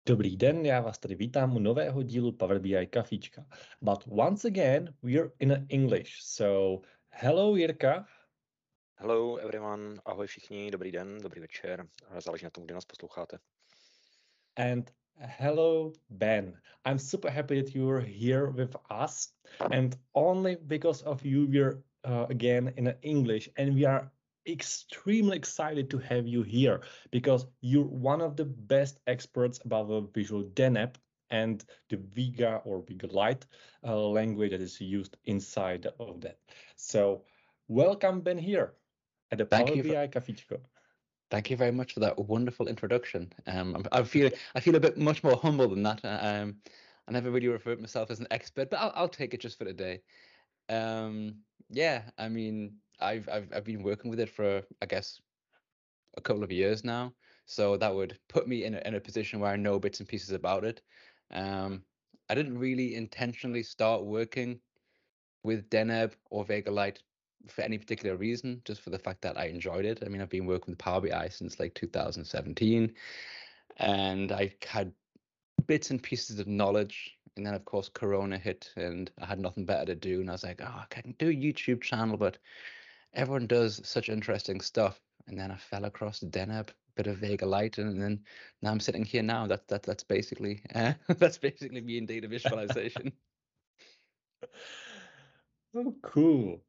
Dobrý den, já vás tady vítám u nového dílu Power BI Kafíčka. But once again, we're in English. So, hello Jirka. Hello everyone, ahoj všichni, dobrý den, dobrý večer, záleží na tom, kde nás posloucháte. And hello Ben. I'm super happy that you're here with us. And only because of you, we're again in English. And we are extremely excited to have you here because you're one of the best experts about the Visual DNAP and the Vega or Vega Lite language that is used inside of that. So welcome Ben here at the Power BI Cafíčko. Thank you very much for that wonderful introduction. I feel a bit much more humble than that. I never really referred to myself as an expert, but I'll take it just for today. Yeah, I mean, I've been working with it for, I guess, a couple of years now, so that would put me in a position where I know bits and pieces about it. I didn't really intentionally start working with DNAB or Vega Lite for any particular reason, just for the fact that I enjoyed it. I mean, I've been working with Power BI since like 2017, and I had bits and pieces of knowledge. And then, of course, Corona hit, and I had nothing better to do. And I was like, oh, I can do a YouTube channel, but everyone does such interesting stuff. And then I fell across DNAB, bit of Vega Lite, and then now I'm sitting here now. That's basically that's basically me in data visualization. Oh, cool.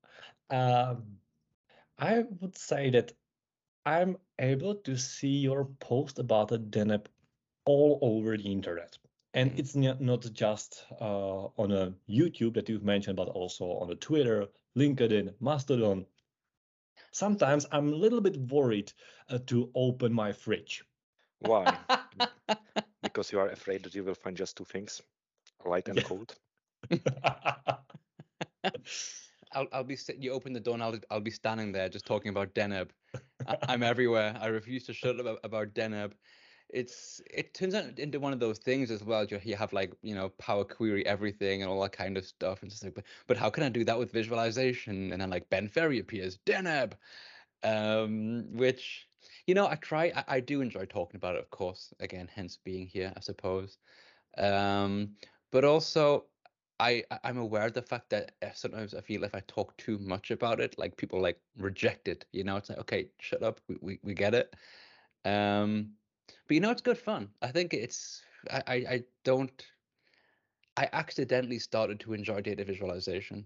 I would say that I'm able to see your post about the DNAP all over the internet. And it's not just on a YouTube that you've mentioned, but also on the Twitter, LinkedIn, Mastodon. Sometimes I'm a little bit worried to open my fridge. Why? Because you are afraid that you will find just two things, light and cold. I'll be you open the door and I'll be standing there just talking about DNAB. I'm everywhere. I refuse to shut up about DNAB. It turns out into one of those things as well. You have like, Power Query everything and all that kind of stuff, and just like, but how can I do that with visualization? And then like Ben Ferry appears, DNAB, which I try. I do enjoy talking about it, of course. Again, hence being here, I suppose. But also, I'm aware of the fact that sometimes I feel if I talk too much about it, like people like reject it. It's like, okay, shut up, we get it. But it's good fun. I think I accidentally started to enjoy data visualization.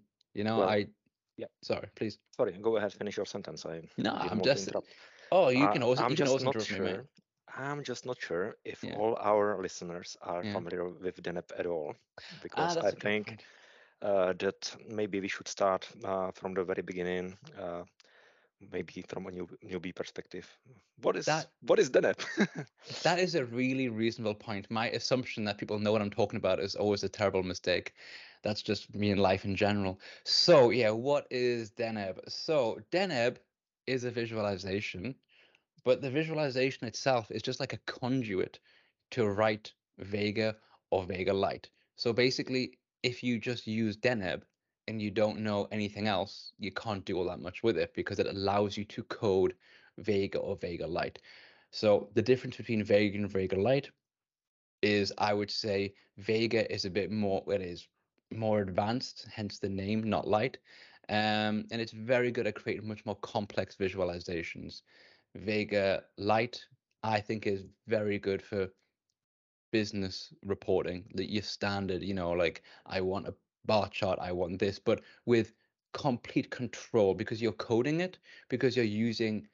Sorry, please. Sorry, go ahead, finish your sentence. I'm just. Oh, you can also interrupt me, mate. I'm just not sure if all our listeners are familiar with DNAP at all, because I think that maybe we should start from the very beginning, maybe from a newbie perspective. What is DNAP? That is a really reasonable point. My assumption that people know what I'm talking about is always a terrible mistake. That's just me in life in general. So yeah, what is DNAB? So DNAB is a visualization, but the visualization itself is just like a conduit to write Vega or Vega Lite. So basically, if you just use DNAB and you don't know anything else, you can't do all that much with it because it allows you to code Vega or Vega Lite. So the difference between Vega and Vega Lite is, I would say, Vega is a bit more, it is more advanced, hence the name, not light. And it's very good at creating much more complex visualizations. Vega Lite, I think, is very good for business reporting, that your standard, like I want a bar chart, I want this, but with complete control because you're coding it, because you're using,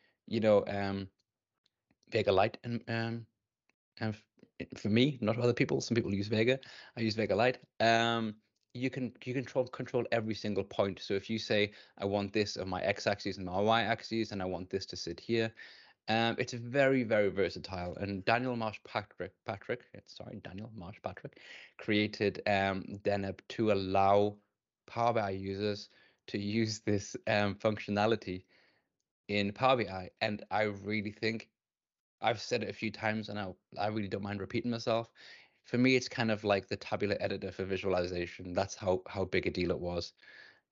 Vega Lite and for me, not other people. Some people use Vega. I use Vega Lite. You can control every single point. So if you say I want this on my x-axis and my y-axis, and I want this to sit here, it's very, very versatile. And Daniel Marsh-Patrick created DNAB to allow Power BI users to use this functionality in Power BI. And I really think, I've said it a few times, and I really don't mind repeating myself. For me, it's kind of like the tabular editor for visualization. That's how big a deal it was.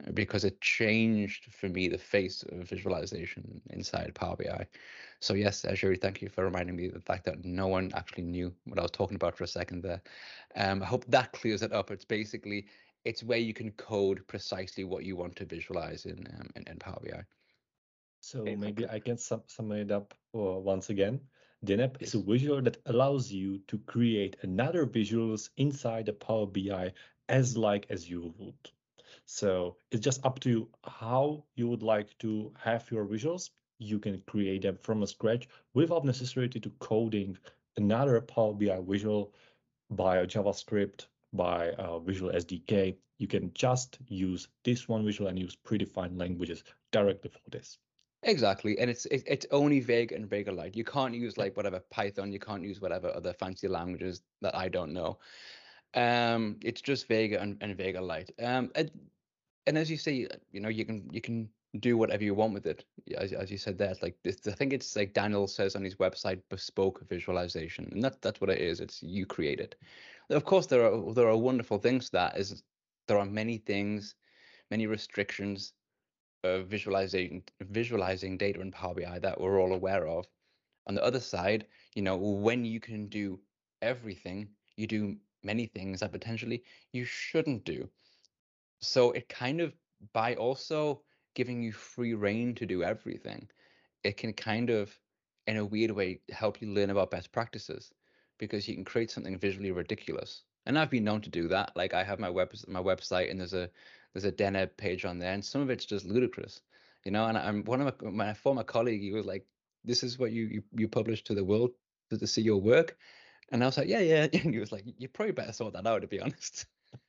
because it changed for me the face of visualization inside Power BI. So yes, Asheri, thank you for reminding me of the fact that no one actually knew what I was talking about for a second there. I hope that clears it up. It's basically, it's where you can code precisely what you want to visualize in Power BI. So maybe I can sum it up once again. Deneb is a visual that allows you to create another visuals inside the Power BI as you would. So it's just up to you how you would like to have your visuals. You can create them from scratch without necessity to coding another Power BI visual by a JavaScript, by a Visual SDK. You can just use this one visual and use predefined languages directly for this. Exactly, and it's only Vega and Vega Lite. You can't use like whatever Python. You can't use whatever other fancy languages that I don't know. It's just Vega and Vega Lite. And as you say, you can do whatever you want with it. As you said there, it's like this. I think it's like Daniel says on his website, bespoke visualization, and that's what it is. It's you create it. Of course, there are wonderful things to that. Is there are many things, many restrictions of visualizing data in Power BI that we're all aware of. On the other side, when you can do everything, you do many things that potentially you shouldn't do. So it kind of, by also giving you free reign to do everything, it can kind of, in a weird way, help you learn about best practices, because you can create something visually ridiculous. And I've been known to do that. Like I have my website, and there's a Deneb page on there, and some of it's just ludicrous, And I'm one of my former colleague. He was like, "This is what you publish to the world to see your work," and I was like, "Yeah." And he was like, "You probably better sort that out, to be honest."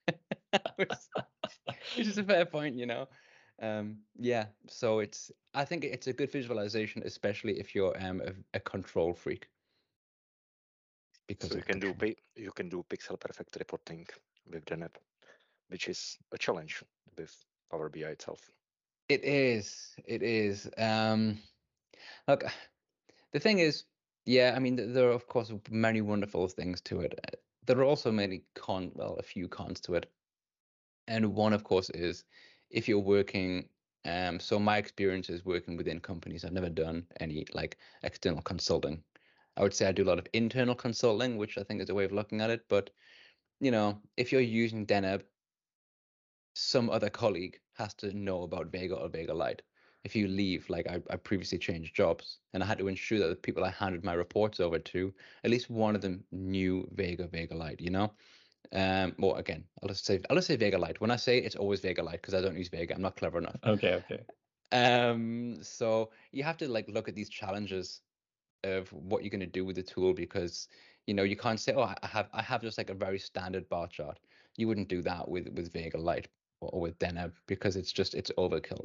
Which is a fair point, Yeah, so I think it's a good visualization, especially if you're a control freak. Because so you can do pixel perfect reporting with Deneb, which is a challenge with Power BI itself. It is. Look, the thing is, yeah, I mean, there are of course many wonderful things to it. There are also a few cons to it. And one, of course, is if you're working. So my experience is working within companies. I've never done any like external consulting. I would say I do a lot of internal consulting, which I think is a way of looking at it. But if you're using Deneb, some other colleague has to know about Vega or Vega Lite. If you leave, like I previously changed jobs, and I had to ensure that the people I handed my reports over to, at least one of them knew Vega Lite. Well, again, I'll just say Vega Lite. When I say it's always Vega Lite, because I don't use Vega, I'm not clever enough. Okay. So you have to like look at these challenges of what you're going to do with the tool, because you can't say, oh, I have just like a very standard bar chart. You wouldn't do that with Vega Lite or with Deneb, because it's overkill.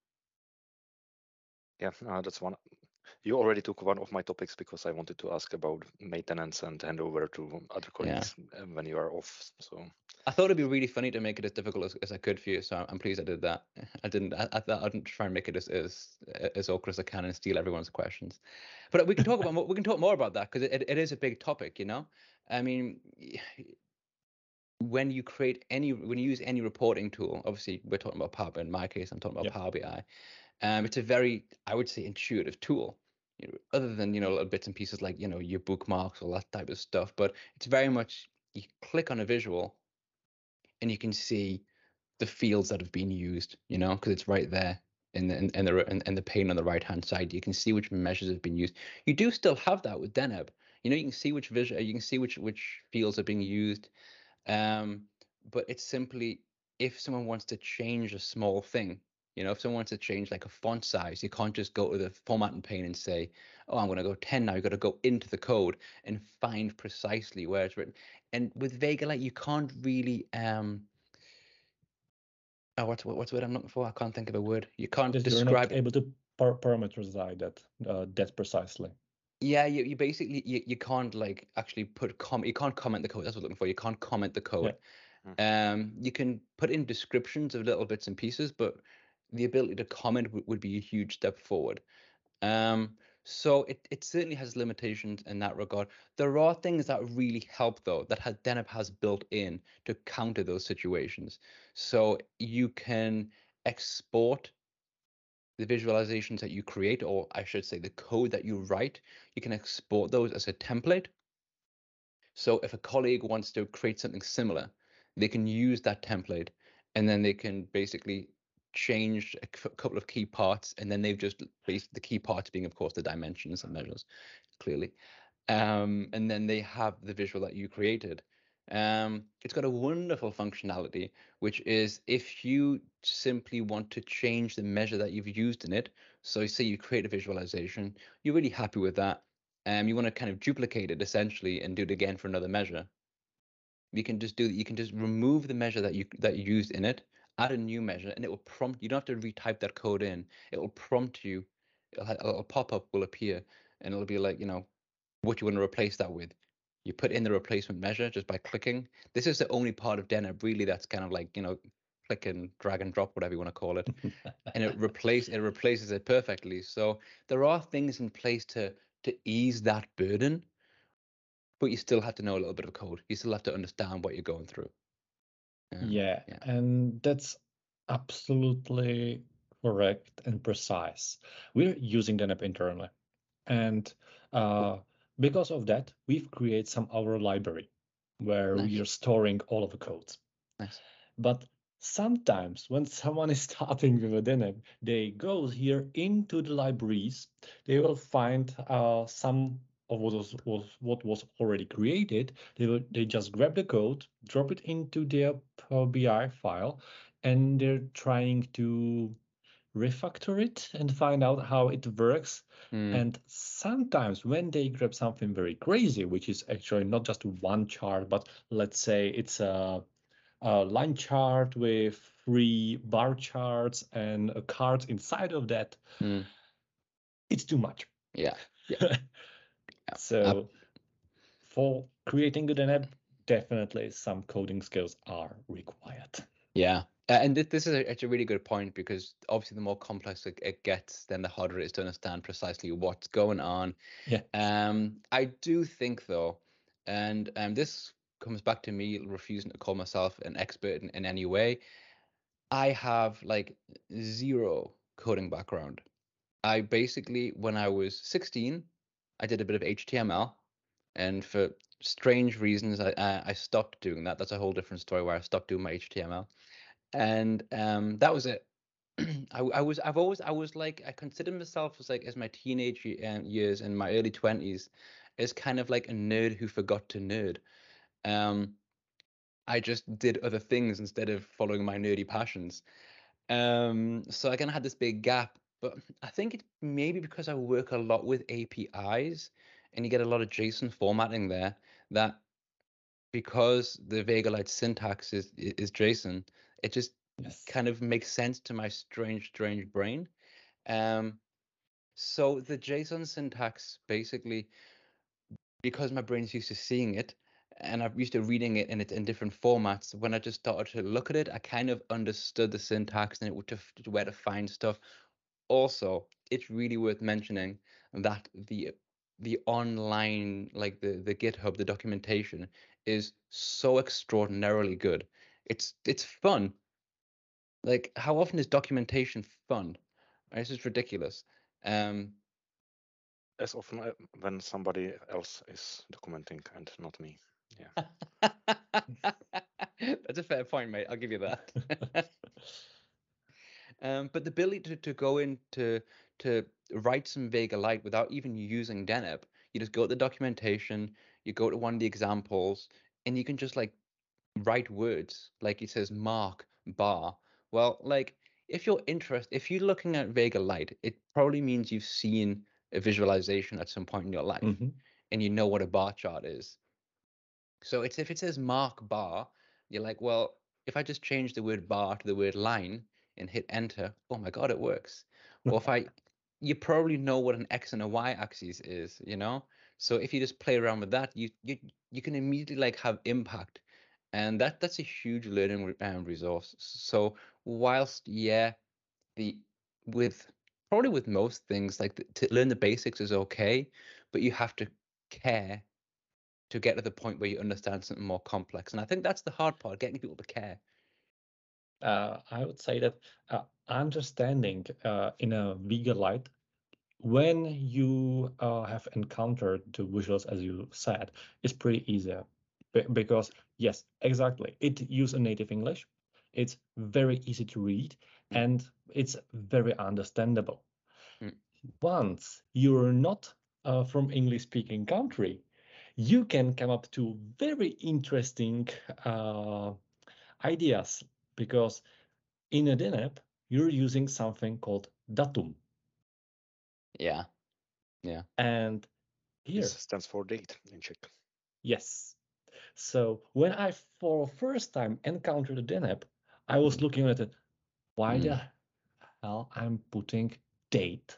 Yeah, that's one. You already took one of my topics, because I wanted to ask about maintenance and hand over to other colleagues when you are off. So I thought it'd be really funny to make it as difficult as I could for you. So I'm pleased I did that. I thought I'd try and make it as awkward as I can and steal everyone's questions. But we can talk more about that, because it is a big topic. I mean, when you use any reporting tool, obviously we're talking about Power BI. In my case, I'm talking about Power BI. It's a very, I would say, intuitive tool. Other than little bits and pieces like your bookmarks, all that type of stuff. But it's very much, you click on a visual, and you can see the fields that have been used. Because it's right there in the pane on the right hand side. You can see which measures have been used. You do still have that with Deneb. You can see which fields are being used. But it's simply, if someone wants to change a small thing, if someone wants to change like a font size, you can't just go to the formatting pane and say, oh, I'm going to go 10 now. You've got to go into the code and find precisely where it's written. And with Vega Lite, you can't really what's the word I'm looking for? I can't think of a word. You can't describe. You're not able to parameterize that precisely. Yeah, you basically you can't like actually you can't comment the code. That's what I'm looking for. You can't comment the code. Yeah. You can put in descriptions of little bits and pieces, but the ability to comment would be a huge step forward. So it certainly has limitations in that regard. There are things that really help, though, that Deneb has built in to counter those situations. So you can export the visualizations that you create, or I should say the code that you write. You can export those as a template. So if a colleague wants to create something similar, they can use that template, and then they can basically change a couple of key parts, and then they've just based the key parts being, of course, the dimensions and measures, clearly. And then they have the visual that you created. It's got a wonderful functionality, which is if you simply want to change the measure that you've used in it. So say you create a visualization, you're really happy with that. You want to kind of duplicate it essentially and do it again for another measure. You can just do that. You can just remove the measure that you used in it, add a new measure, and it will prompt. You don't have to retype that code in. It will prompt you. A little pop-up will appear, and it'll be like, what you want to replace that with. You put in the replacement measure just by clicking. This is the only part of Deneb really that's kind of like, click and drag and drop, whatever you want to call it, and it replaces it perfectly. So there are things in place to ease that burden, but you still have to know a little bit of code. You still have to understand what you're going through. Yeah, and that's absolutely correct and precise. We're using Deneb internally, and because of that, we've created some our library where we are storing all of the codes. Nice. But sometimes when someone is starting with a Deneb, they go here into the libraries. They will find some of what was already created. They just grab the code, drop it into their Power BI file, and they're trying to refactor it and find out how it works. And sometimes when they grab something very crazy, which is actually not just one chart, but let's say it's a line chart with 3 bar charts and a card inside of that, it's too much. Yeah. So for creating a Deneb, definitely some coding skills are required. Yeah. And this is a really good point, because obviously the more complex it gets, then the harder it is to understand precisely what's going on. Yeah. I do think, though, and this comes back to me refusing to call myself an expert in any way. I have like zero coding background. I basically, when I was 16, I did a bit of HTML, and for strange reasons, I stopped doing that. That's a whole different story where I stopped doing my HTML. And that was it. I considered myself as my teenage years and my early 20s as kind of like a nerd who forgot to nerd. I just did other things instead of following my nerdy passions. So I kind of had this big gap, but I think it's maybe because I work a lot with APIs and you get a lot of JSON formatting there, that because the Vega Lite syntax is JSON, it just kind of makes sense to my strange brain. So the JSON syntax, basically, because my brain's used to seeing it and I'm used to reading it in different formats, when I just started to look at it, I kind of understood the syntax and where to find stuff. Also, it's really worth mentioning that the online, like the GitHub, the documentation is so extraordinarily good. It's fun. Like, how often is documentation fun? This is ridiculous. As often when somebody else is documenting and not me. Yeah. That's a fair point, mate. I'll give you that. But the ability to go into to write some Vega Lite without even using Deneb, you just go to the documentation, you go to one of the examples, and you can just like write words, like it says mark bar. Well, like if you're looking at Vega Lite, it probably means you've seen a visualization at some point in your life, and you know what a bar chart is. So if it says mark bar, you're like, well, if I just change the word bar to the word line and hit enter, oh my God, it works. Or you probably know what an X and a Y axis is, So if you just play around with that, you can immediately like have impact, and that's a huge learning resource. So whilst with most things, like to learn the basics is okay, but you have to care to get to the point where you understand something more complex. And I think that's the hard part, getting people to care. I would say that understanding in a bigger light, when you have encountered the visuals, as you said, is pretty easy. Because, yes, exactly, it uses a native English. It's very easy to read, and it's very understandable. Once you're not from English-speaking country, you can come up to very interesting ideas, because in a DNAP, you're using something called datum. Yeah. And here. This stands for date in Czech. Yes. So when I for first time encountered a DNAP, I was looking at it. Why the hell I'm putting date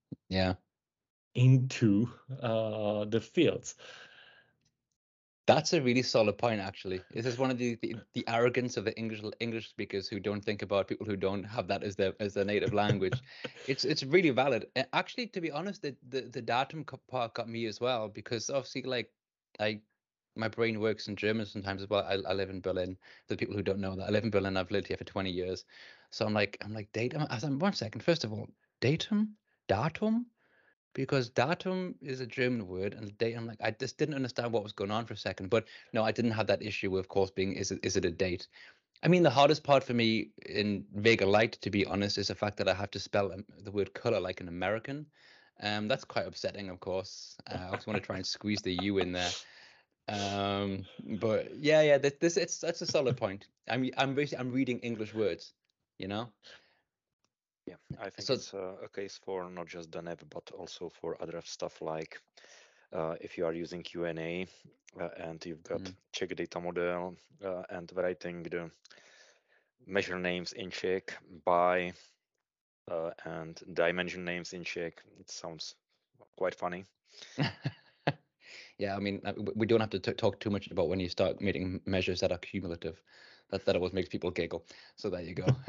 into the fields? That's a really solid point, actually. This is one of the arrogance of the English speakers who don't think about people who don't have that as their native language. It's really valid. Actually, to be honest, the datum part got me as well, because obviously, like, my brain works in German sometimes as well. I live in Berlin. For people who don't know that, I live in Berlin. I've lived here for 20 years. So I'm like datum. I was like, 1 second. First of all, datum. Because datum is a German word, and date, I'm like, I just didn't understand what was going on for a second. But no, I didn't have that issue, of course, being is it a date? I mean, the hardest part for me in Vega Light, to be honest, is the fact that I have to spell the word color like an American. That's quite upsetting, of course. I also want to try and squeeze the U in there. But yeah, that's a solid point. I'm reading English words, you know. Yeah, I think it's a case for not just DNAP, but also for other stuff, like if you are using QNA and you've got Czech data model and writing the measure names in Czech by and dimension names in Czech, it sounds quite funny. Yeah, I mean, we don't have to talk too much about when you start making measures that are cumulative. That always makes people giggle. So there you go.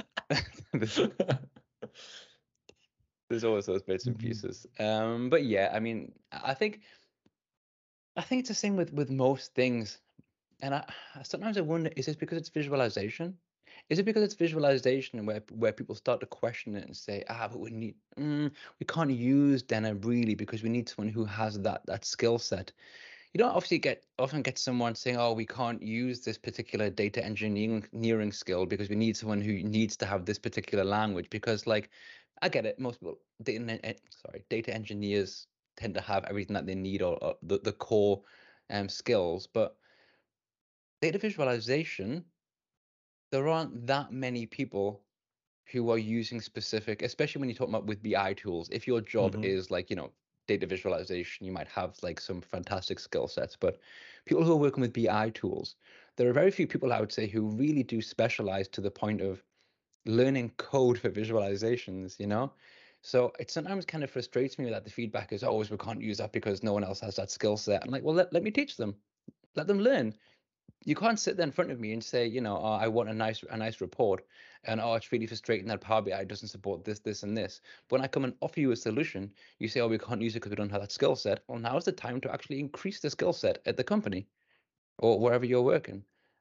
There's always those bits and pieces. But yeah, I mean, I think it's the same with most things. And sometimes I wonder, is this because it's visualization? Is it because it's visualization where people start to question it and say, but we can't use DNAP really because we need someone who has that skill set. You don't often get someone saying, oh, we can't use this particular data engineering skill because we need someone who needs to have this particular language. Because, like, I get it, most people, data engineers tend to have everything that they need, or the core skills. But data visualization, there aren't that many people who are using specific, especially when you talk about with BI tools. If your job is like, data visualization, you might have like some fantastic skill sets, but people who are working with BI tools, there are very few people, I would say, who really do specialize to the point of learning code for visualizations, So it sometimes kind of frustrates me that the feedback is always, we can't use that because no one else has that skill set. I'm like, well, let me teach them. Let them learn. You can't sit there in front of me and say, oh, I want a nice report, and it's really frustrating that Power BI doesn't support this, and this. But when I come and offer you a solution, you say, oh, we can't use it because we don't have that skill set. Well, now is the time to actually increase the skill set at the company or wherever you're working.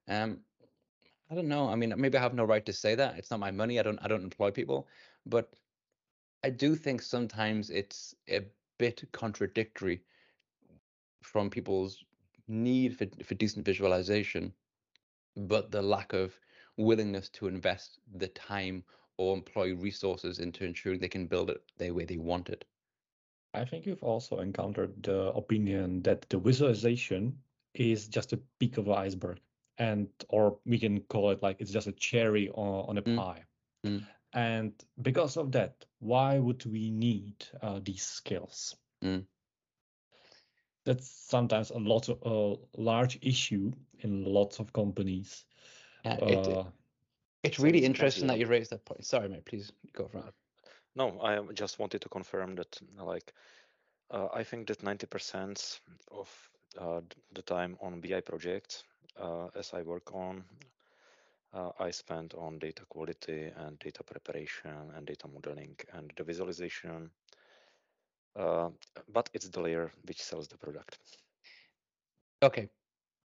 I don't know. I mean, maybe I have no right to say that. It's not my money. I don't employ people, but I do think sometimes it's a bit contradictory from people's need for decent visualization, but the lack of willingness to invest the time or employ resources into ensuring they can build it the way they want it. I think you've also encountered the opinion that the visualization is just a peak of the iceberg, or we can call it like it's just a cherry on a pie. And because of that, why would we need these skills? That's sometimes a large issue in lots of companies. It's really interesting that you raised that point. Sorry, mate, please go for it. No, I just wanted to confirm that, like, I think that 90% of the time on BI projects, as I work on, I spend on data quality and data preparation and data modeling and the visualization. But it's the layer which sells the product. Okay.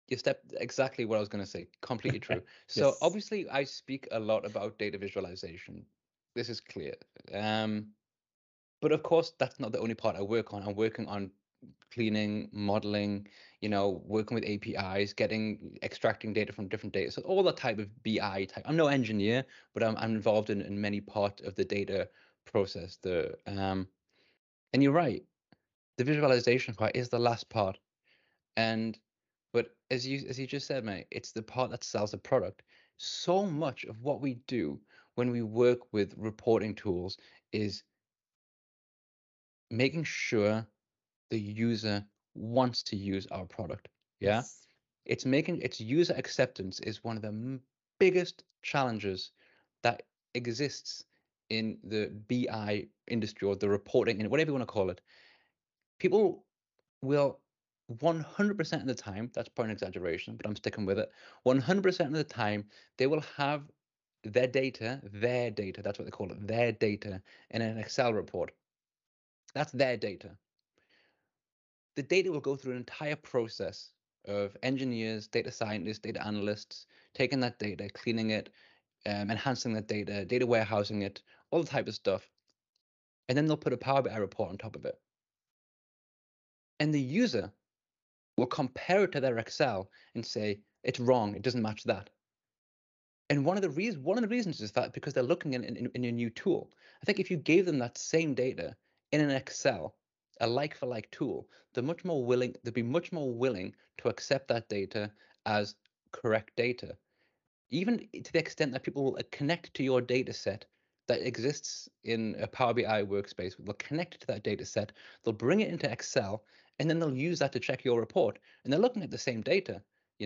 You stepped exactly what I was going to say. Completely true. So Yes. obviously, I speak a lot about data visualization. This is clear. But of course, that's not the only part I work on. I'm working on cleaning, modeling, working with APIs, extracting data from different data. So all that type of BI type. I'm no engineer, but I'm involved in many parts of the data process. And you're right. The visualization part is the last part. But as you just said, mate, it's the part that sells the product. So much of what we do when we work with reporting tools is making sure the user wants to use our product. Yeah. Yes. Its user acceptance is one of the biggest challenges that exists in the BI industry, or the reporting, and whatever you want to call it. People will 100% of the time, that's probably an exaggeration, but I'm sticking with it. 100% of the time, they will have their data, that's what they call it, their data in an Excel report. That's their data. The data will go through an entire process of engineers, data scientists, data analysts, taking that data, cleaning it, enhancing that data warehousing it, all the type of stuff. And then they'll put a Power BI report on top of it. And the user will compare it to their Excel and say, it's wrong, it doesn't match that. And one of the reasons is that because they're looking in a new tool. I think if you gave them that same data in an Excel, a like-for-like tool, they'd be much more willing to accept that data as correct data. Even to the extent that people will connect to your data set that exists in a Power BI workspace. They'll connect to that data set, they'll bring it into Excel, and then they'll use that to check your report. And they're looking at the same data,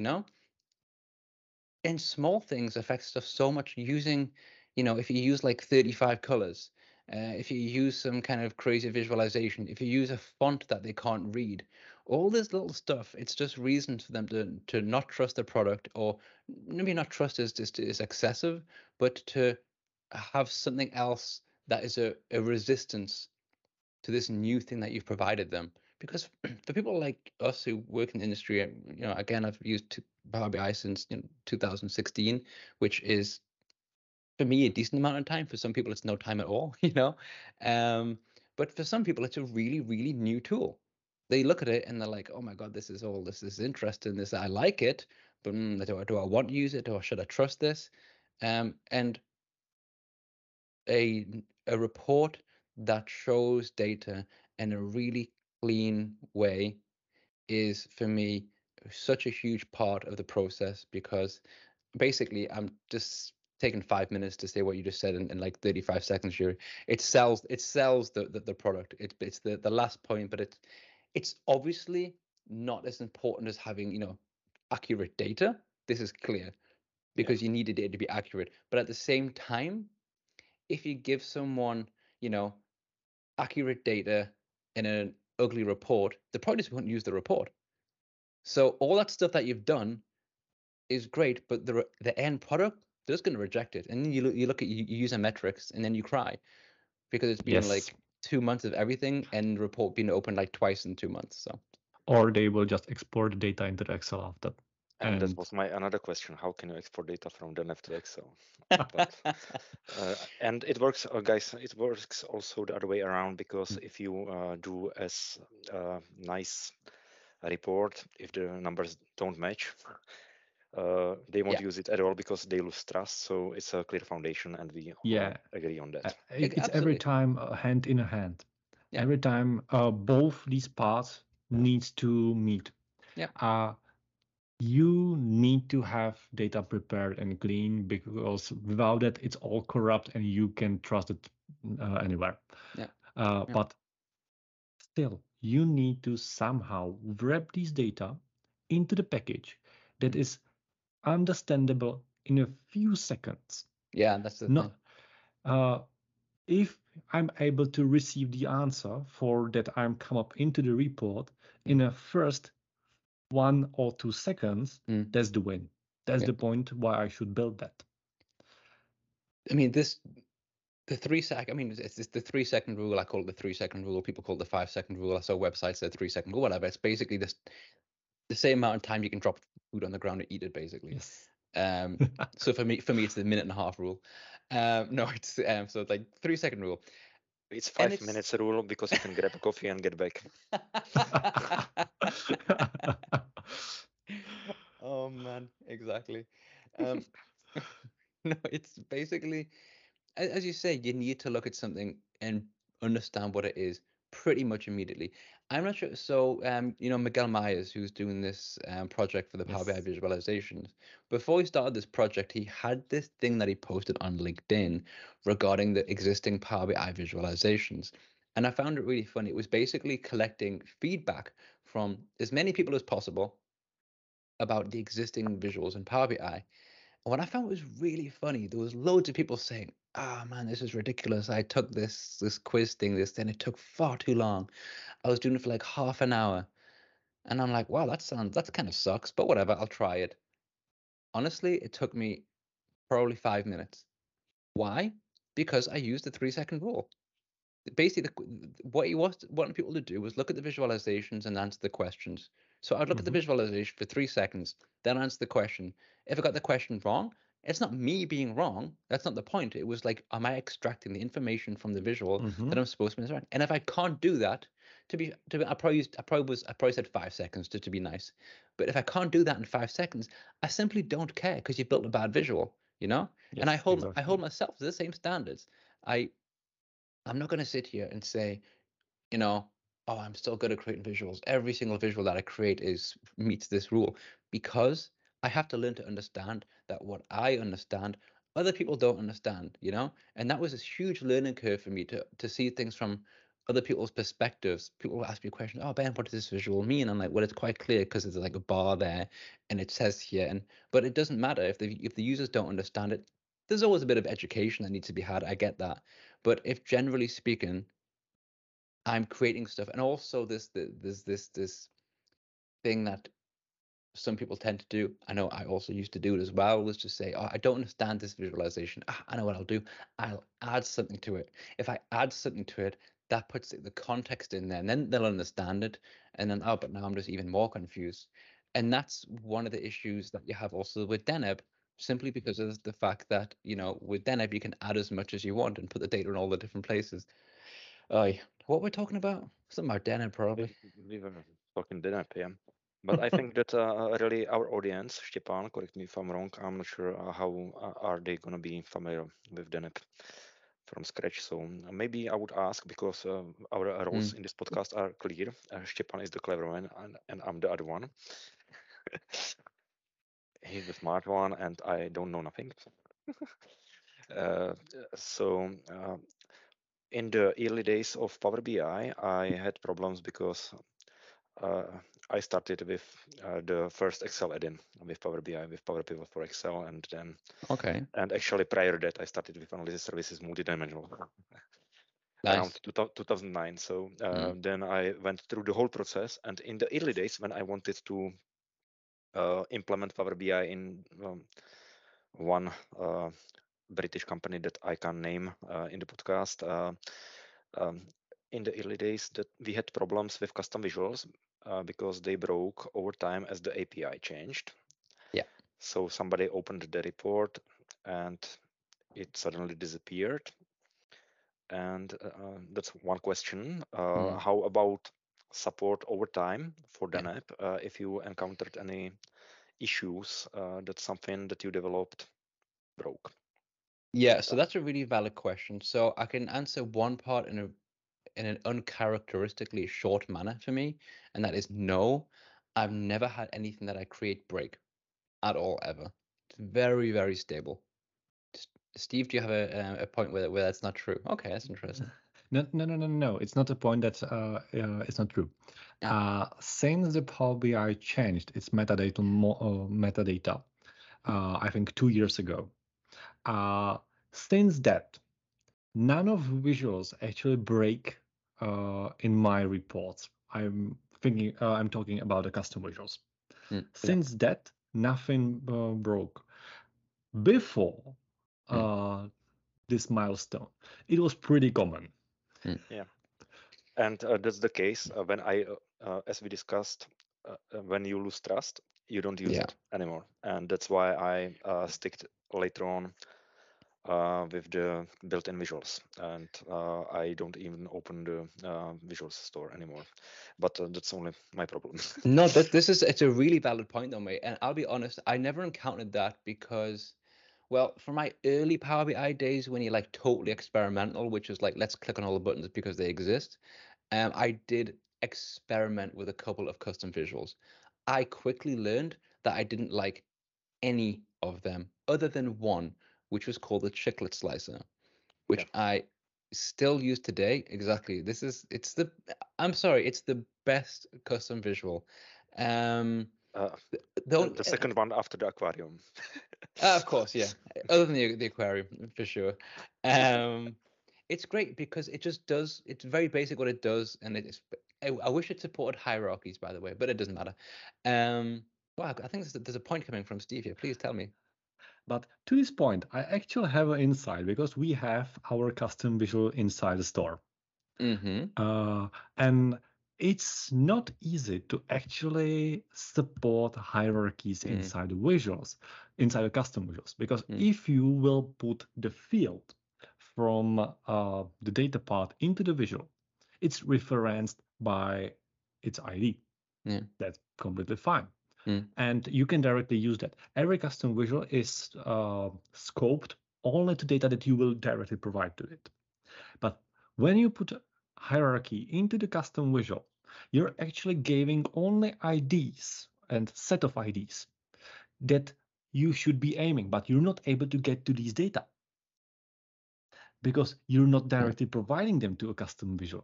And small things affect stuff so much. Using, if you use like 35 colors, if you use some kind of crazy visualization, if you use a font that they can't read, all this little stuff, it's just reasons for them to not trust the product, or maybe not trust is excessive, but to have something else that is a resistance to this new thing that you've provided them. Because for people like us who work in the industry, again, I've used Power BI since 2016, which is for me a decent amount of time. For some people, it's no time at all, But for some people, it's a really, really new tool. They look at it and they're like, "Oh my God, this is interesting. I like it, but do I want to use it? Or should I trust this?" And a report that shows data in a really clean way is, for me, such a huge part of the process, because basically I'm just taking 5 minutes to say what you just said in like 35 seconds, Yuri. It sells the product. It's the last point, but it's obviously not as important as having accurate data. This is clear, because you need the data to be accurate. But at the same time, if you give someone, accurate data in an ugly report, they probably just won't use the report. So all that stuff that you've done is great, but the end product, they're just going to reject it. And then you look at user metrics, and then you cry, because it's been like 2 months of everything, and the report being opened like twice in 2 months. So, or they will just export the data into the Excel after. And that was my another question: how can you export data from Deneb to Excel? But, and it works, guys. It works also the other way around, because if you do as nice a report, if the numbers don't match, they won't use it at all, because they lose trust. So it's a clear foundation, and we all agree on that. It's every time hand in a hand. Every time both these parts needs to meet. You need to have data prepared and clean, because without that, it's all corrupt and you can trust it anywhere. But still, you need to somehow wrap these data into the package that is understandable in a few seconds. Yeah, that's the thing. If I'm able to receive the answer for that I'm come up into the report in a first 1 or 2 seconds, that's the win. That's the point why I should build that. I mean, the 3 second. I mean, it's the 3 second rule. I call it the 3 second rule. People call it the 5 second rule. I saw websites that 3 second rule, whatever. It's basically this. the same amount of time you can drop food on the ground and eat it, basically. Yes. So for me, it's the 1.5 minute rule. No, it's so it's like 3-second rule. It's 5 minutes rule because you can grab a coffee and get back. Oh man, exactly. No, it's basically, as you say, you need to look at something and understand what it is pretty much immediately. I'm not sure. So, Miguel Myers, who's doing this project for the Power BI visualizations, before he started this project, he had this thing that he posted on LinkedIn regarding the existing Power BI visualizations. And I found it really funny. It was basically collecting feedback from as many people as possible about the existing visuals in Power BI. And what I found was really funny, there was loads of people saying, "Ah, man, this is ridiculous. I took this quiz thing, then it took far too long. I was doing it for like half an hour." And I'm like, wow, that kind of sucks, but whatever, I'll try it. Honestly, it took me probably 5 minutes. Why? Because I used the 3-second rule. Basically, what he wanted people to do was look at the visualizations and answer the questions. So I'd look at the visualization for 3 seconds, then answer the question. If I got the question wrong, it's not me being wrong. That's not the point. It was like, am I extracting the information from the visual that I'm supposed to be extracting? And if I can't do that, I probably said 5 seconds to be nice. But if I can't do that in 5 seconds, I simply don't care because you built a bad visual, you know? Yes, and I hold myself to the same standards. I'm not going to sit here and say, oh, I'm still good at creating visuals. Every single visual that I create meets this rule, because I have to learn to understand that what I understand, other people don't understand, And that was a huge learning curve for me to see things from other people's perspectives. People will ask me questions, "Oh, Ben, what does this visual mean?" I'm like, well, it's quite clear because there's like a bar there and it says here. But it doesn't matter if the users don't understand it. There's always a bit of education that needs to be had. I get that. But if generally speaking, I'm creating stuff, and also this thing that some people tend to do, I know I also used to do it as well, was to say, "Oh, I don't understand this visualization. I know what I'll do. I'll add something to it. If I add something to it, that puts the context in there, and then they'll understand it. And then, oh, but now I'm just even more confused." And that's one of the issues that you have also with Deneb, simply because of the fact that, with Deneb, you can add as much as you want and put the data in all the different places. What we're talking about? Something about Deneb, probably. We were talking Deneb, yeah. But I think that really our audience, Stepan, correct me if I'm wrong, I'm not sure how are they going to be familiar with Deneb from scratch. So maybe I would ask, because our roles in this podcast are clear. Stepan is the clever one, and I'm the other one. He's the smart one, and I don't know nothing. So in the early days of Power BI, I had problems because I started with the first Excel add-in with Power BI, with Power Pivot for Excel, and then and actually prior to that, I started with Analysis Services Multidimensional around 2009. So then I went through the whole process, and in the early days when I wanted to implement Power BI in one British company that I can name in the podcast, in the early days that we had problems with custom visuals because they broke over time as the API changed. Yeah. So somebody opened the report and it suddenly disappeared. And that's one question. How about support over time for Deneb? If you encountered any issues, that's something that you developed broke. Yeah, so that's a really valid question. So I can answer one part in an uncharacteristically short manner for me, and that is no. I've never had anything that I create break at all, ever. It's very, very stable. Steve, do you have a point where that's not true? Okay, that's interesting. No. It's not a point that it's not true. Since the Power BI changed its metadata, I think 2 years ago, since that, none of visuals actually break in my reports. I'm talking about the custom visuals. Since that, nothing broke. Before this milestone, it was pretty common. Yeah, and that's the case when I, as we discussed, when you lose trust, you don't use it anymore, and that's why I stick later on with the built-in visuals, and I don't even open the visuals store anymore. But that's only my problem. No, it's a really valid point though, mate. And I'll be honest, I never encountered that because, well, for my early Power BI days when you're like totally experimental, which is like let's click on all the buttons because they exist, I did experiment with a couple of custom visuals. I quickly learned that I didn't like any of them other than one, which was called the chiclet slicer, which I still use today. Exactly. It's the best custom visual. The second one after the aquarium. Of course, yeah. Other than the aquarium, for sure. It's great because it just does. It's very basic what it does, and it's. I wish it supported hierarchies, by the way, but it doesn't matter. Wow, I think there's a point coming from Steve here. Please tell me. But to this point, I actually have an insight because we have our custom visual inside the store. And it's not easy to actually support hierarchies inside the visuals, inside the custom visuals, because if you will put the field from the data part into the visual, it's referenced by its ID. That's completely fine. And you can directly use that. Every custom visual is scoped only to data that you will directly provide to it. But when you put hierarchy into the custom visual, you're actually giving only IDs and set of IDs that you should be aiming, but you're not able to get to these data because you're not directly providing them to a custom visual.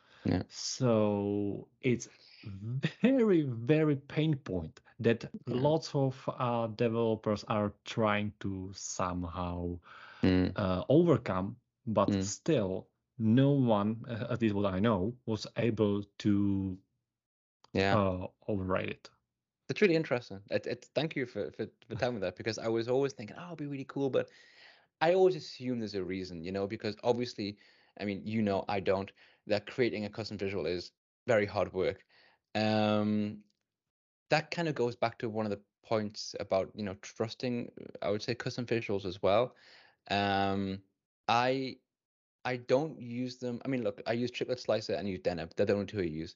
So it's very, very pain point that lots of developers are trying to somehow overcome, but still no one, at least what I know, was able to override it. It's really interesting. Thank you for telling me that, because I was always thinking, oh, it'd be really cool, but I always assume there's a reason, because obviously, I mean, I don't, that creating a custom visual is very hard work. That kind of goes back to one of the points about, trusting, I would say, custom visuals as well. I don't use them. I mean, look, I use Chiclet Slicer and use Deneb. They're the only two I use.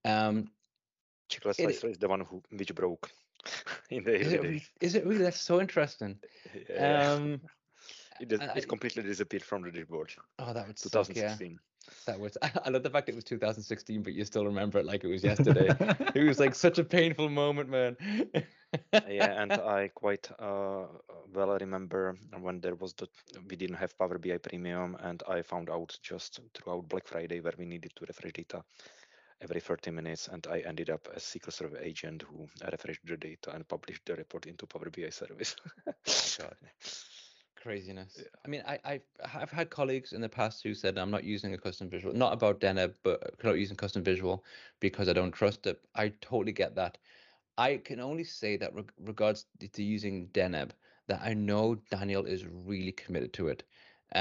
Chiclet Slicer is the one which broke in the early days. Is it really? That's so interesting. Yeah. It completely disappeared from the dashboard. Oh, that was 2016. That was. I love the fact it was 2016, but you still remember it like it was yesterday. It was like such a painful moment, man. Yeah, and I quite well remember when we didn't have Power BI Premium, and I found out just throughout Black Friday where we needed to refresh data every 30 minutes, and I ended up as SQL Server agent who refreshed the data and published the report into Power BI service. Oh God. Craziness. Yeah. I mean, I've had colleagues in the past who said I'm not using a custom visual, not about Deneb, but not using custom visual because I don't trust it. I totally get that. I can only say that regards to using Deneb, that I know Daniel is really committed to it.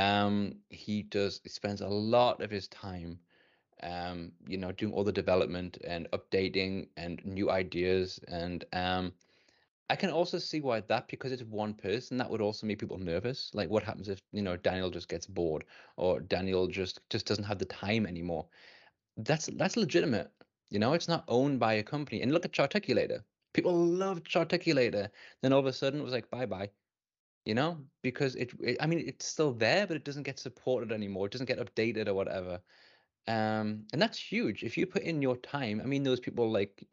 He spends a lot of his time, doing all the development and updating and new ideas, and I can also see why because it's one person, that would also make people nervous. Like, what happens if, Daniel just gets bored, or Daniel just doesn't have the time anymore? That's legitimate. It's not owned by a company. And look at Charticulator. People loved Charticulator. Then all of a sudden it was like, bye-bye. Because I mean, it's still there, but it doesn't get supported anymore. It doesn't get updated or whatever. And that's huge. If you put in your time, I mean, those people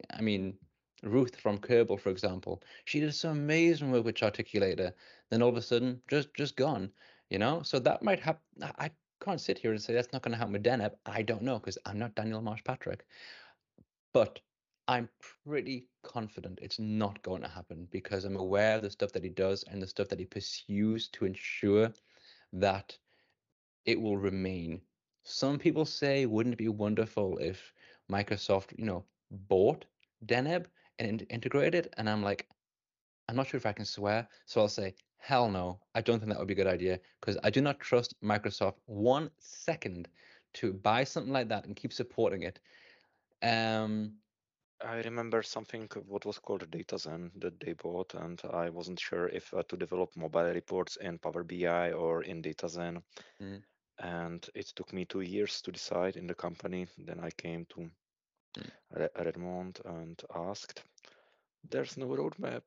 Ruth from Kerbal, for example, she did some amazing work with Charticulator. Then all of a sudden, just gone. So that might happen. I can't sit here and say that's not going to happen with Deneb. I don't know, because I'm not Daniel Marsh-Patrick. But I'm pretty confident it's not going to happen, because I'm aware of the stuff that he does and the stuff that he pursues to ensure that it will remain. Some people say, wouldn't it be wonderful if Microsoft, bought Deneb and integrated? And I'm like, I'm not sure if I can swear, so I'll say, hell no. I don't think that would be a good idea, because I do not trust Microsoft 1 second to buy something like that and keep supporting it. I remember something what was called DataZen that they bought, and I wasn't sure if to develop mobile reports in Power BI or in DataZen. And it took me 2 years to decide in the company. Then I came to Redmond and asked. There's no roadmap.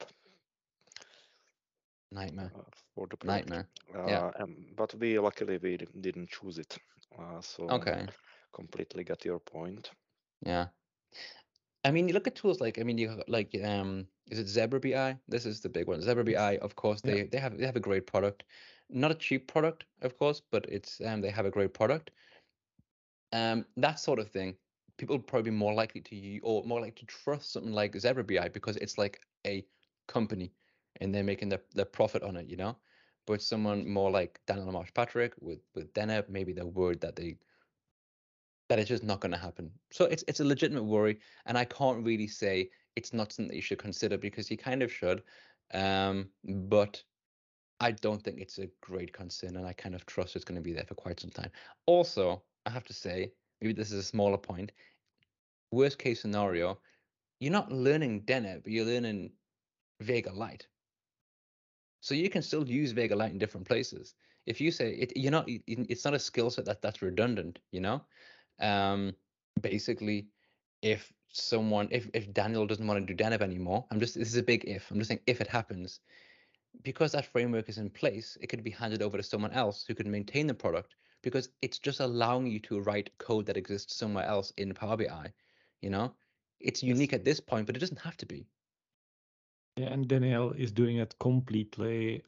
Nightmare. For the product. Nightmare. Yeah. But luckily we didn't choose it. So okay. Completely get your point. Yeah. I mean, you look at tools like, I mean, you like, is it Zebra BI? This is the big one. Zebra BI, of course, they have a great product, not a cheap product, of course, but it's they have a great product. That sort of thing, people probably more likely to use or more likely to trust something like Zebra BI because it's like a company and they're making their profit on it, you know. But someone more like Daniel Marsh-Patrick with Deneb, maybe they're worried that it's just not going to happen. So it's a legitimate worry, and I can't really say it's not something that you should consider because you kind of should, but I don't think it's a great concern, and I kind of trust it's going to be there for quite some time. Also, I have to say, maybe this is a smaller point. Worst case scenario, you're not learning Deneb, but you're learning Vega Lite. So you can still use Vega Lite in different places. If you say it's not a skill set that's redundant, you know. Basically, if Daniel doesn't want to do Deneb anymore, this is a big if. I'm just saying if it happens, because that framework is in place, it could be handed over to someone else who can maintain the product because it's just allowing you to write code that exists somewhere else in Power BI. You know, it's unique at this point, but it doesn't have to be. Yeah, and Daniel is doing it completely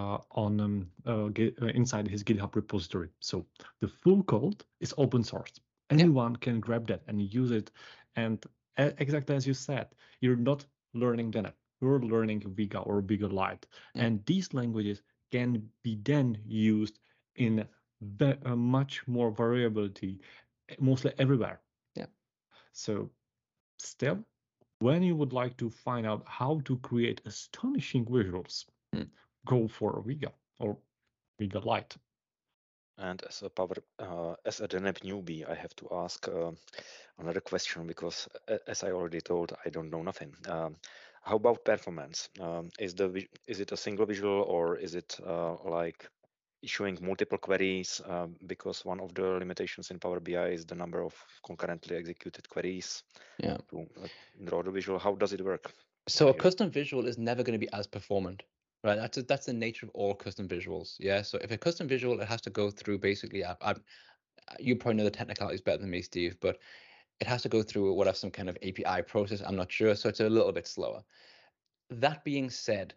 inside his GitHub repository. So the full code is open source. Anyone can grab that and use it. And exactly as you said, you're not learning Deneb. You're learning Vega or Vega Lite. And these languages can be then used in much more variability, mostly everywhere. Yeah. So still, when you would like to find out how to create astonishing visuals, go for Vega or Vega Lite. And as a Deneb newbie, I have to ask another question because, as I already told, I don't know nothing. How about performance? Is it a single visual or is it like issuing multiple queries? Because one of the limitations in Power BI is the number of concurrently executed queries to draw the visual. How does it work? So a custom visual is never going to be as performant, right? That's the nature of all custom visuals. Yeah. So if a custom visual, it has to go through basically. You probably know the technicalities better than me, Steve, but it has to go through whatever some kind of API process. I'm not sure, so it's a little bit slower. That being said,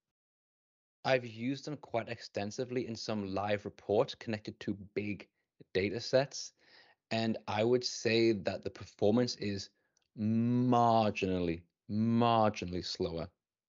I've used them quite extensively in some live reports connected to big data sets, and I would say that the performance is marginally slower.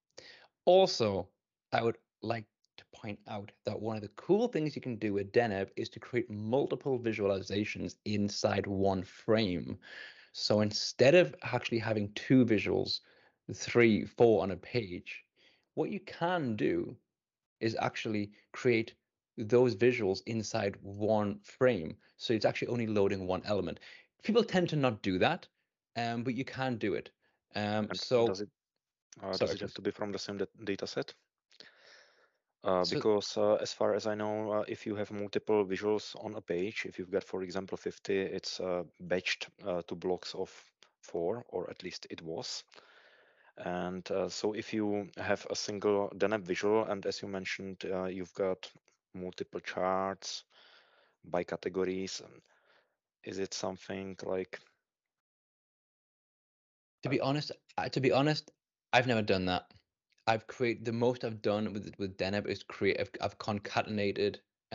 Also, I would like to point out that one of the cool things you can do with Deneb is to create multiple visualizations inside one frame. So instead of actually having 2 visuals, 3, 4 on a page, what you can do is actually create those visuals inside one frame. So it's actually only loading one element. People tend to not do that, but you can do it. So does it have to be from the same data set? Because as far as I know, if you have multiple visuals on a page, if you've got, for example, 50, it's batched to blocks of 4, or at least it was. And so if you have a single Deneb visual, and as you mentioned, you've got multiple charts by categories, is it something like... To be honest, I've never done that. The most I've done with Deneb is I've concatenated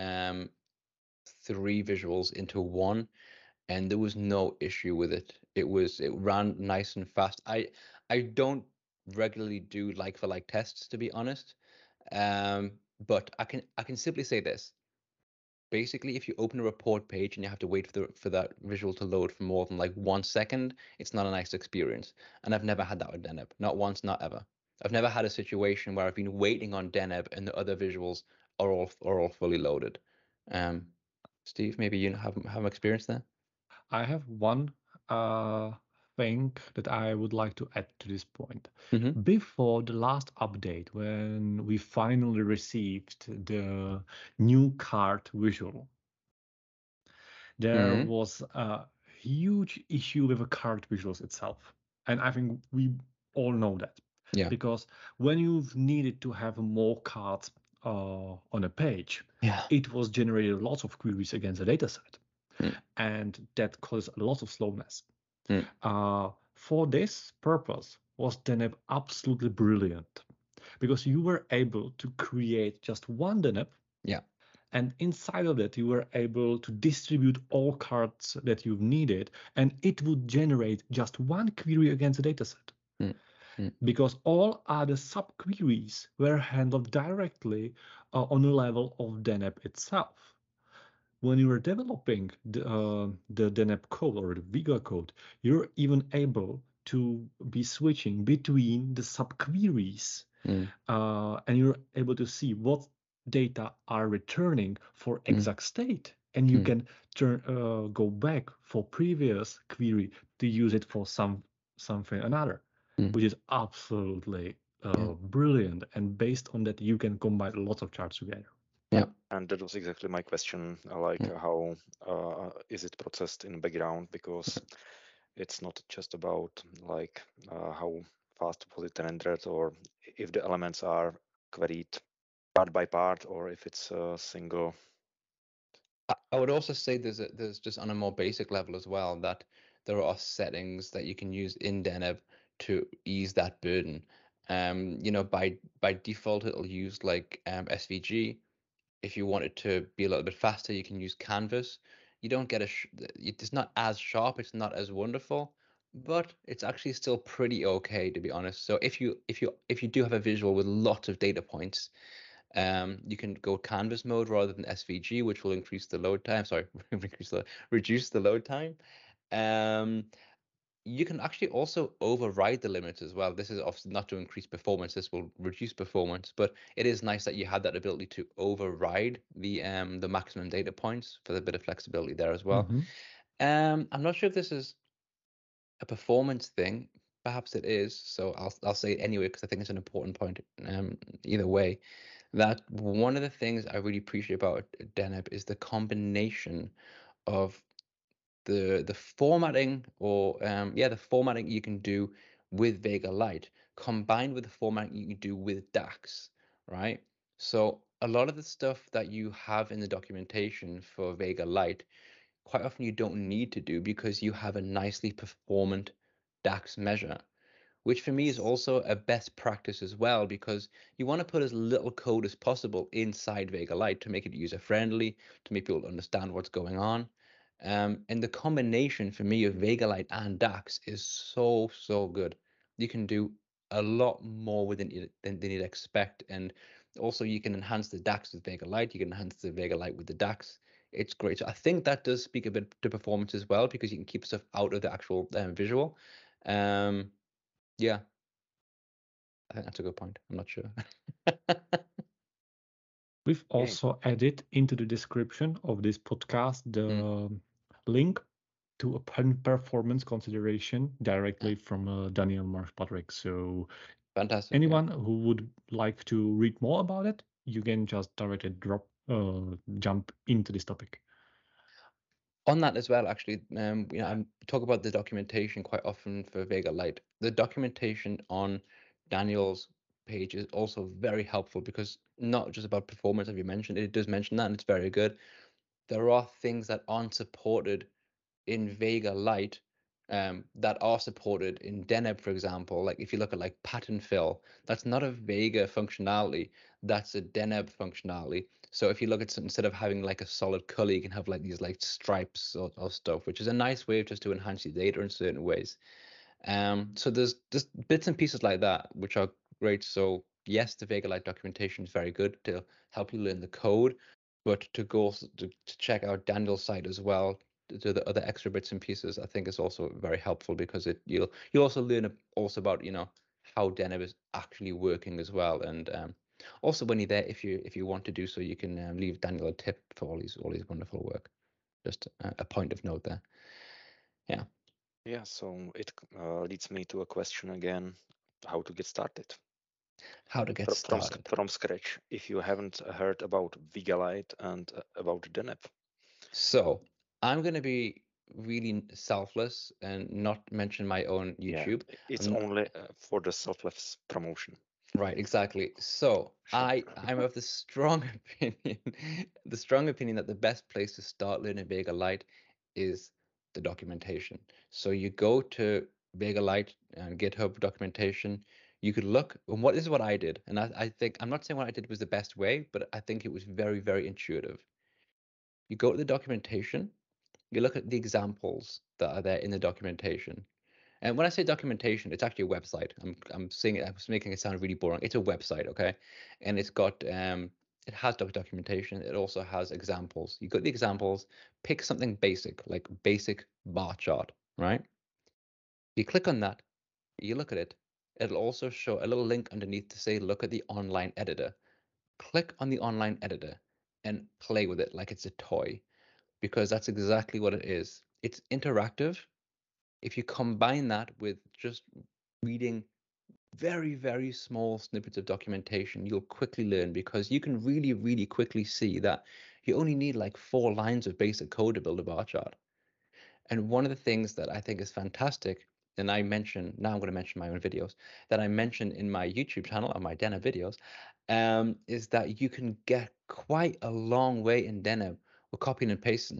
3 visuals into one, and there was no issue with it. It ran nice and fast. I don't regularly do like for like tests, to be honest, but I can simply say this. Basically, if you open a report page and you have to wait for that visual to load for more than like 1 second, it's not a nice experience. And I've never had that with Deneb, not once, not ever. I've never had a situation where I've been waiting on Deneb and the other visuals are all fully loaded. Steve, maybe you have experience there. I have one thing that I would like to add to this point. Mm-hmm. Before the last update, when we finally received the new card visual, there was a huge issue with the card visuals itself. And I think we all know that. Yeah. Because when you've needed to have more cards on a page, it was generated lots of queries against the dataset. And that caused a lot of slowness. For this purpose, was Deneb absolutely brilliant, because you were able to create just one Deneb. Yeah. And inside of that, you were able to distribute all cards that you've needed, and it would generate just one query against the dataset. Because all other sub-queries were handled directly on the level of Deneb itself. When you were developing the Deneb code or the Vega code, you're even able to be switching between the sub-queries, and you're able to see what data are returning for exact state, and you can go back for previous query to use it for something another, which is absolutely brilliant. And based on that, you can combine lots of charts together. Yeah. And that was exactly my question, like how is it processed in background, because it's not just about like how fast was it rendered, or if the elements are queried part by part, or if it's a single. I would also say there's just on a more basic level as well, that there are settings that you can use in Deneb to ease that burden. You know, by default, it'll use like SVG. If you want it to be a little bit faster, you can use Canvas. You don't get it's not as sharp, it's not as wonderful, but it's actually still pretty okay, to be honest. So if you do have a visual with lots of data points, you can go Canvas mode rather than SVG, which will increase the load time. Sorry, reduce the load time. You can actually also override the limits as well. This is obviously not to increase performance. This will reduce performance, but it is nice that you have that ability to override the maximum data points for a bit of flexibility there as well. I'm not sure if this is a performance thing. Perhaps it is. So I'll say it anyway, because I think it's an important point. Either way, that one of the things I really appreciate about Deneb is the combination of the formatting, or the formatting you can do with Vega Lite combined with the formatting you can do with DAX, right? So a lot of the stuff that you have in the documentation for Vega Lite, quite often you don't need to do, because you have a nicely performant DAX measure, which for me is also a best practice as well, because you want to put as little code as possible inside Vega Lite to make it user friendly, to make people understand what's going on. And the combination for me of Vega Lite and DAX is so good. You can do a lot more with it than you'd expect, and also you can enhance the DAX with Vega Lite. You can enhance the Vega Lite with the DAX. It's great. So I think that does speak a bit to performance as well, because you can keep stuff out of the actual visual. Yeah, I think that's a good point. I'm not sure. We've also added into the description of this podcast the link to a performance consideration directly from Daniel Marsh-Patrick. So fantastic. Anyone who would like to read more about it, you can just directly jump into this topic. On that as well, actually, I talk about the documentation quite often for Vega Lite. The documentation on Daniel's page is also very helpful, because not just about performance, as you mentioned, it does mention that, and it's very good. There are things that aren't supported in Vega Lite that are supported in Deneb, for example. Like if you look at like pattern fill, that's not a Vega functionality, that's a Deneb functionality. So if you look at, instead of having like a solid color, you can have like these like stripes or stuff, which is a nice way just to enhance your data in certain ways. So there's just bits and pieces like that which are great. So yes, the Vega Lite documentation is very good to help you learn the code, but to go to check out Daniel's site as well, to the other extra bits and pieces, I think is also very helpful, because you'll also learn also about how Deneb is actually working as well. And also when you're there, if you want to do so, you can leave Daniel a tip for all his wonderful work. Just a point of note there. Yeah. Yeah, so it leads me to a question again, how to get started. How to get started. From scratch, if you haven't heard about Vigalite and about Deneb. So I'm going to be really selfless and not mention my own YouTube. Yeah, it's only for the selfless promotion. Right, exactly. So I'm of the strong opinion, that the best place to start learning Vega Lite is the documentation. So you go to Vega Lite and GitHub documentation. You could look, and this is what I did, and I think I'm not saying what I did was the best way, but I think it was very, very intuitive. You go to the documentation, you look at the examples that are there in the documentation. And when I say documentation, it's actually a website. I'm saying it, I was making it sound really boring. It's a website, okay? And it's got it has documentation. It also has examples. You got the examples, pick something basic, like basic bar chart, right? You click on that, you look at it. It'll also show a little link underneath to say, look at the online editor. Click on the online editor and play with it like it's a toy, because that's exactly what it is. It's interactive. If you combine that with just reading very, very small snippets of documentation, you'll quickly learn, because you can really, really quickly see that you only need like 4 lines of basic code to build a bar chart. And one of the things that I think is fantastic, and I mention, now I'm going to mention my own videos, that I mention in my YouTube channel on my Deneb videos, is that you can get quite a long way in Deneb with copying and pasting.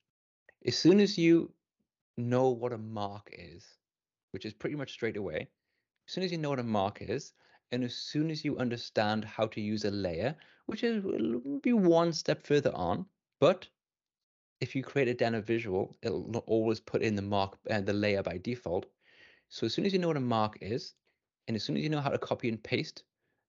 As soon as you know what a mark is, which is pretty much straight away, as soon as you know what a mark is, and as soon as you understand how to use a layer, which will be one step further on, but if you create a Deneb visual, it'll not always put in the mark and the layer by default. So as soon as you know what a mark is, and as soon as you know how to copy and paste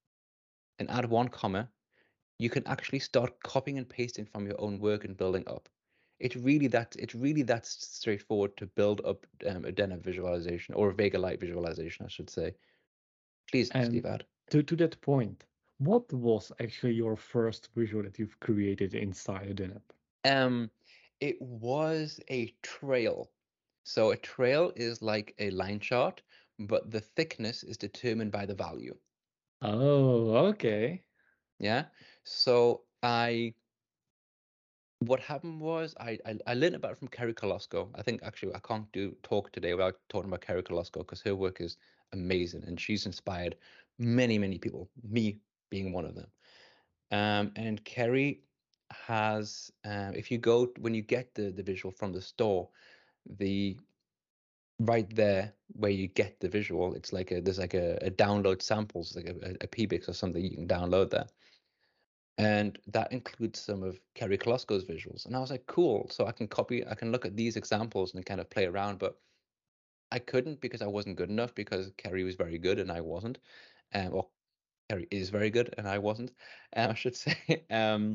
and add 1 comma, you can actually start copying and pasting from your own work and building up. It's really that straightforward to build up a Deneb visualization, or a Vega Lite visualization, I should say. Please, Steve, add. To that point, what was actually your first visual that you've created inside Deneb? It was a trail. So a trail is like a line chart, but the thickness is determined by the value. Oh, okay. Yeah. So what happened was I learned about it from Kerry Kolosko. I think actually I can't talk today without talking about Kerry Kolosko, because her work is amazing and she's inspired many, many people, me being one of them. And Kerry has, if you go, when you get the visual from the store, right there where you get the visual, it's like there's like a download samples, like a PBIX or something you can download there. And that includes some of Kerry Kolosko's visuals. And I was like, cool. So I can look at these examples and kind of play around, but I couldn't because I wasn't good enough, because Kerry was very good and I wasn't. Or Kerry is very good and I wasn't, I should say.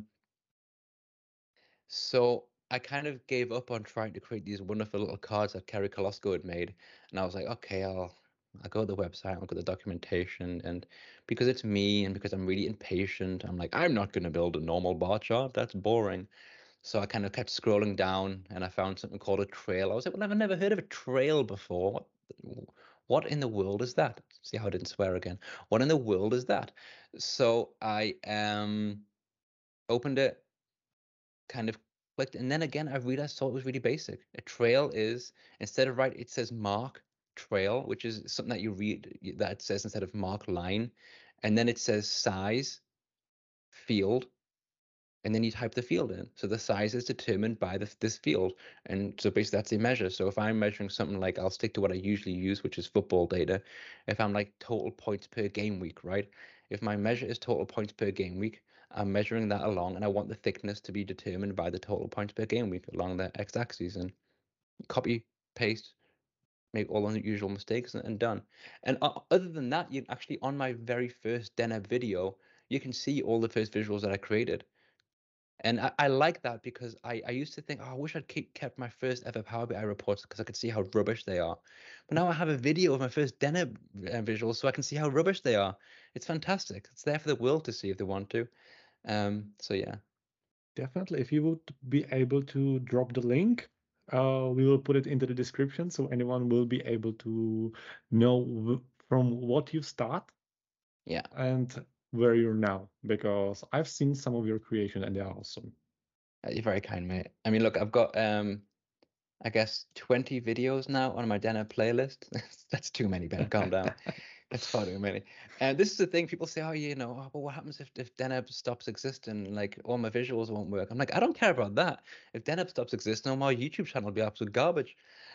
So I kind of gave up on trying to create these wonderful little cards that Kerry Kolosko had made. And I was like, okay, I'll go to the website, I'll look at the documentation. And because it's me and because I'm really impatient, I'm like, I'm not going to build a normal bar chart. That's boring. So I kind of kept scrolling down and I found something called a trail. I was like, well, I've never heard of a trail before. What in the world is that? See how I didn't swear again. What in the world is that? So I opened it, kind of clicked, and then again I realized, saw it was really basic. A trail is, instead of it says mark trail, which is something that you read that it says instead of mark line, and then it says size field, and then you type the field in. So the size is determined by this field, and so basically that's a measure. So if I'm measuring something like, I'll stick to what I usually use, which is football data. If I'm like total points per game week, right? If my measure is total points per game week, I'm measuring that along, and I want the thickness to be determined by the total points per game week along the x-axis, and copy, paste, make all the usual mistakes, and done. And other than that, you actually, on my very first Deneb video, you can see all the first visuals that I created. And I like that, because I used to think, oh, I wish I'd kept my first ever Power BI reports because I could see how rubbish they are. But now I have a video of my first Deneb visuals, so I can see how rubbish they are. It's fantastic. It's there for the world to see if they want to. So yeah. Definitely. If you would be able to drop the link We will put it into the description so anyone will be able to know from what you start. Yeah. And where you're now, because I've seen some of your creation and they're awesome. You're very kind, mate. I mean, look, I've got I guess 20 videos now on my Deneb playlist. That's too many, Ben. Calm down. That's far too many. And this is the thing. People say, oh, but what happens if Deneb stops existing? Like, all my visuals won't work. I'm like, I don't care about that. If Deneb stops existing, my YouTube channel will be absolute garbage.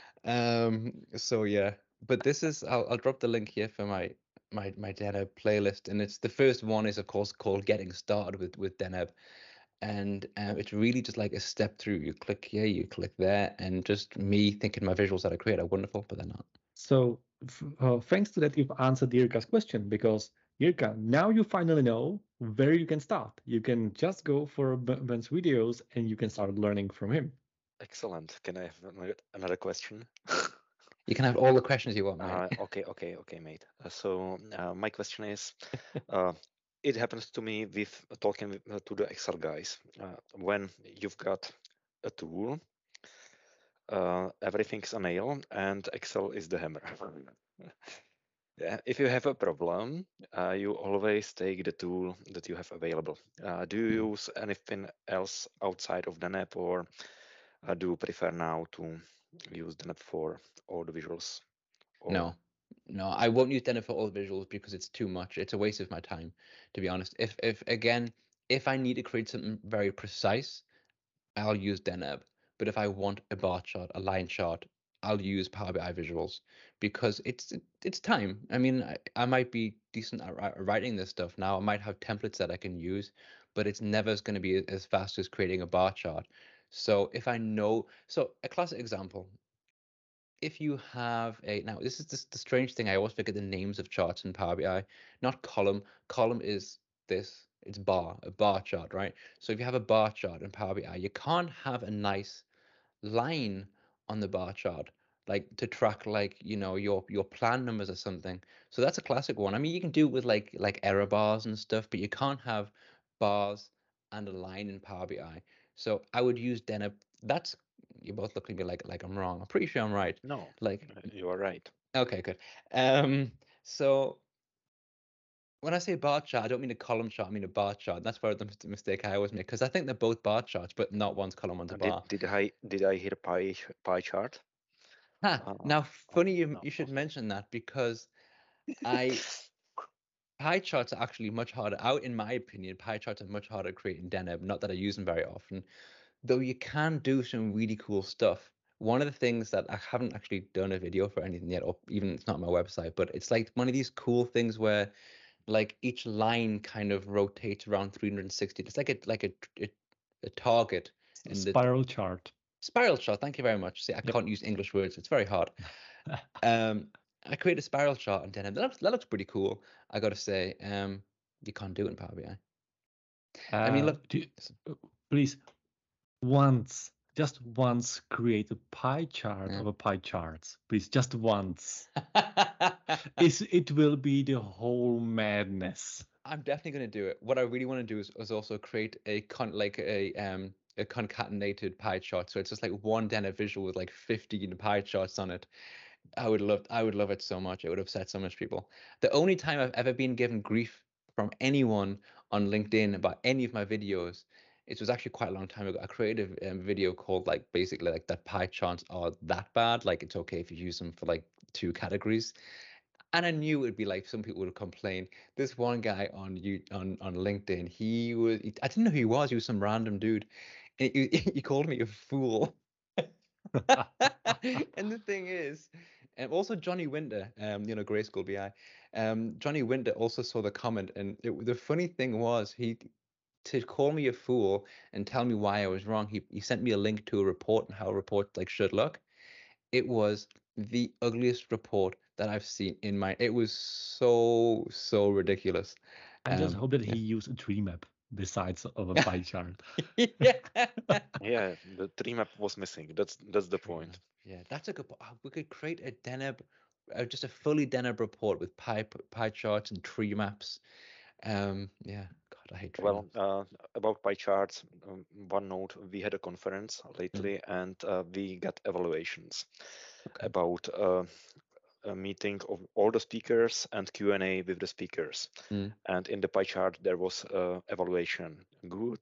So yeah, but this is, I'll drop the link here for my Deneb playlist, and it's the first one is of course called Getting Started with Deneb, and it's really just like a step through. You click here, you click there, and just me thinking my visuals that I create are wonderful, but they're not. So thanks to that, you've answered Jirka's question, because Jirka, now you finally know where you can start. You can just go for Ben's videos and you can start learning from him. Excellent. Can I have another question? You can have all the questions you want, mate. Okay, mate. So my question is, it happens to me with talking to the Excel guys. When you've got a tool, everything's a nail, and Excel is the hammer. Yeah, if you have a problem, you always take the tool that you have available. Do you use anything else outside of Deneb, or do you prefer now to use Deneb for all the visuals? Or... No, I won't use Deneb for all the visuals because it's too much. It's a waste of my time, to be honest. If I need to create something very precise, I'll use Deneb. But if I want a bar chart, a line chart, I'll use Power BI visuals because it's time. I mean, I might be decent at writing this stuff now. I might have templates that I can use, but it's never going to be as fast as creating a bar chart. So if I know, so a classic example, if you have now this is the strange thing, I always forget the names of charts in Power BI. Not column. Column is this. It's a bar chart, right? So if you have a bar chart in Power BI, you can't have a nice line on the bar chart, like to track like your plan numbers or something. So that's a classic one. I mean, you can do it with like error bars and stuff, but you can't have bars and a line in Power BI. So I would use Deneb. That's, you both look at me like I'm wrong. I'm pretty sure I'm right. No, like you are right. Okay, good. So when I say bar chart, I don't mean a column chart, I mean a bar chart. That's where the mistake I always make, because I think they're both bar charts, but not one's column, one's a bar. Did I hear pie chart? Now, funny you should mention that, because pie charts are actually much harder. In my opinion, pie charts are much harder to create in Deneb. Not that I use them very often, though you can do some really cool stuff. One of the things that I haven't actually done a video for anything yet, or even it's not on my website, but it's like one of these cool things where like each line kind of rotates around 360. It's like a target. And spiral chart. Spiral chart. Thank you very much. See, I can't use English words. It's very hard. I created a spiral chart on Deneb. That looks pretty cool, I got to say. You can't do it in Power BI. I mean, look, please, just once create a pie chart of a pie charts. Please, just once. It will be the whole madness. I'm definitely going to do it. What I really want to do is also create a concatenated pie chart. So it's just like one Deneb visual with like 15 pie charts on it. I would love it so much. It would upset so much people. The only time I've ever been given grief from anyone on LinkedIn about any of my videos, it was actually quite a long time ago. I created a video called like basically like that pie charts are that bad. Like it's okay if you use them for like 2 categories. And I knew it would be like some people would complain. This one guy on LinkedIn, I didn't know who he was. He was some random dude. And he called me a fool. And the thing is, and also Johnny Winter, Grayskull BI, Johnny Winter also saw the comment, and the funny thing was to call me a fool and tell me why I was wrong. He sent me a link to a report and how a report like should look. It was the ugliest report that I've seen in my. It was so ridiculous. I just hope that he used a tree map besides of a pie chart. Yeah, the tree map was missing. That's the point. Yeah, that's a good point. We could create a Deneb, just a fully Deneb report with pie charts and tree maps. Yeah, God, I hate training. Well, about pie charts, one note, we had a conference lately and we got evaluations about a meeting of all the speakers and Q&A with the speakers. And in the pie chart, there was evaluation good,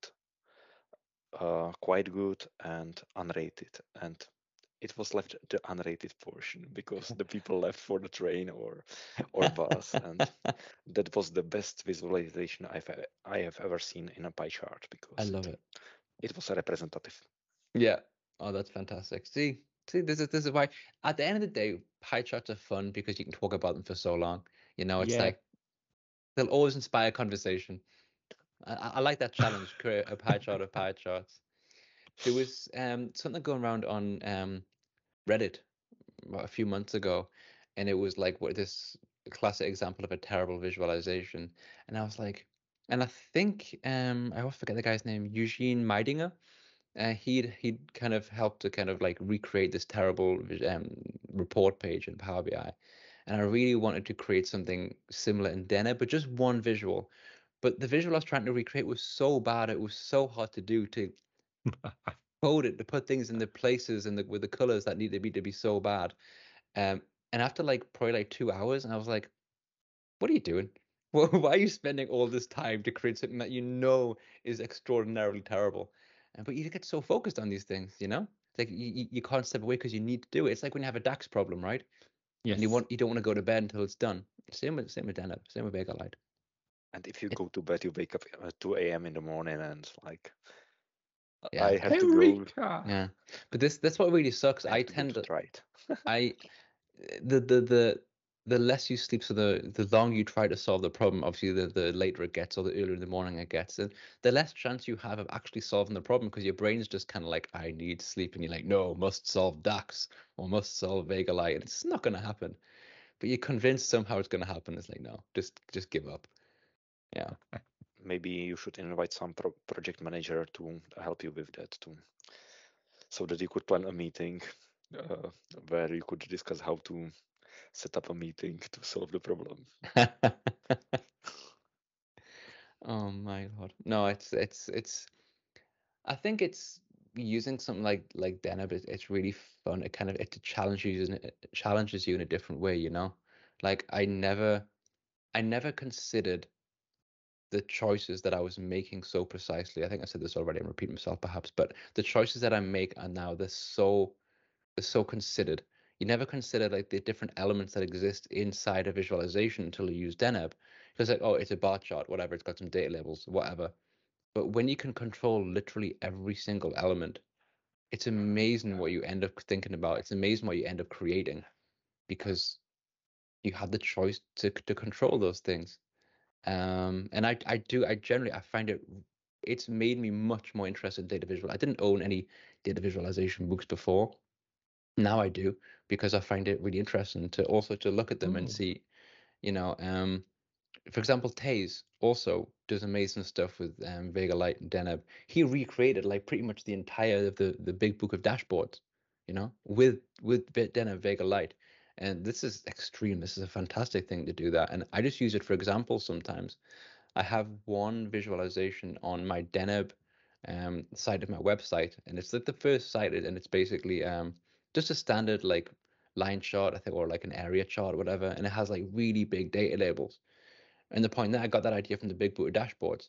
quite good, and unrated. And it was left the unrated portion because the people left for the train or bus, and that was the best visualization I have ever seen in a pie chart because I love it. It was representative. Yeah. Oh, that's fantastic. See, this is why at the end of the day, pie charts are fun because you can talk about them for so long. You know, it's like they'll always inspire conversation. I like that challenge, create a pie chart of pie charts. There was something going around on Reddit a few months ago, and it was like this classic example of a terrible visualization. And I was like, and I think I always forget the guy's name, Eugene Meidinger. He'd kind of helped to kind of like recreate this terrible report page in Power BI, and I really wanted to create something similar in Deneb, but just one visual. But the visual I was trying to recreate was so bad; it was so hard to do, to code it, to put things in the places and with the colors that need to be so bad. And after like probably like 2 hours, and I was like, "What are you doing? Why are you spending all this time to create something that you know is extraordinarily terrible?" But you get so focused on these things, you know? It's like you can't step away because you need to do it. It's like when you have a DAX problem, right? Yes. And you don't want to go to bed until it's done. Same with Deneb, same with Vega Lite. And if you go to bed, you wake up at 2 a.m. in the morning, and like, yeah, I have to go. Yeah, but that's what really sucks. I tend to try it. The less you sleep, so the longer you try to solve the problem, obviously the later it gets, or the earlier in the morning it gets, and the less chance you have of actually solving the problem, because your brain's just kind of like, I need sleep, and you're like, no, must solve DAX or must solve Vega Lite, and it's not going to happen. But you're convinced somehow it's going to happen. It's like, no, just give up. Yeah. Maybe you should invite some project manager to help you with that too, so that you could plan a meeting where you could discuss how to set up a meeting to solve the problem. Oh my God. No, it's I think it's using something like Deneb. It's really fun. It challenges you in a different way, you know? Like I never considered the choices that I was making so precisely. I think I said this already. I'm repeating myself perhaps, but the choices that I make are now they're so considered. You never consider like the different elements that exist inside a visualization until you use Deneb. Because like, oh, it's a bar chart, whatever, it's got some data labels, whatever. But when you can control literally every single element, it's amazing what you end up thinking about. It's amazing what you end up creating, because you have the choice to control those things. And I generally, I find it's made me much more interested in data visual. I didn't own any data visualization books before. Now I do, because I find it really interesting to also to look at them and see, you know, for example, Taze also does amazing stuff with Vega Lite and Deneb. He recreated like pretty much the entire of the big book of dashboards, you know, with Deneb Vega Lite. And this is extreme. This is a fantastic thing to do that. And I just use it for examples sometimes. I have one visualization on my Deneb side of my website, and it's like the first site, and it's basically just a standard like line chart, I think, or like an area chart, or whatever, and it has like really big data labels. And the point that I got that idea from the Big Book dashboards.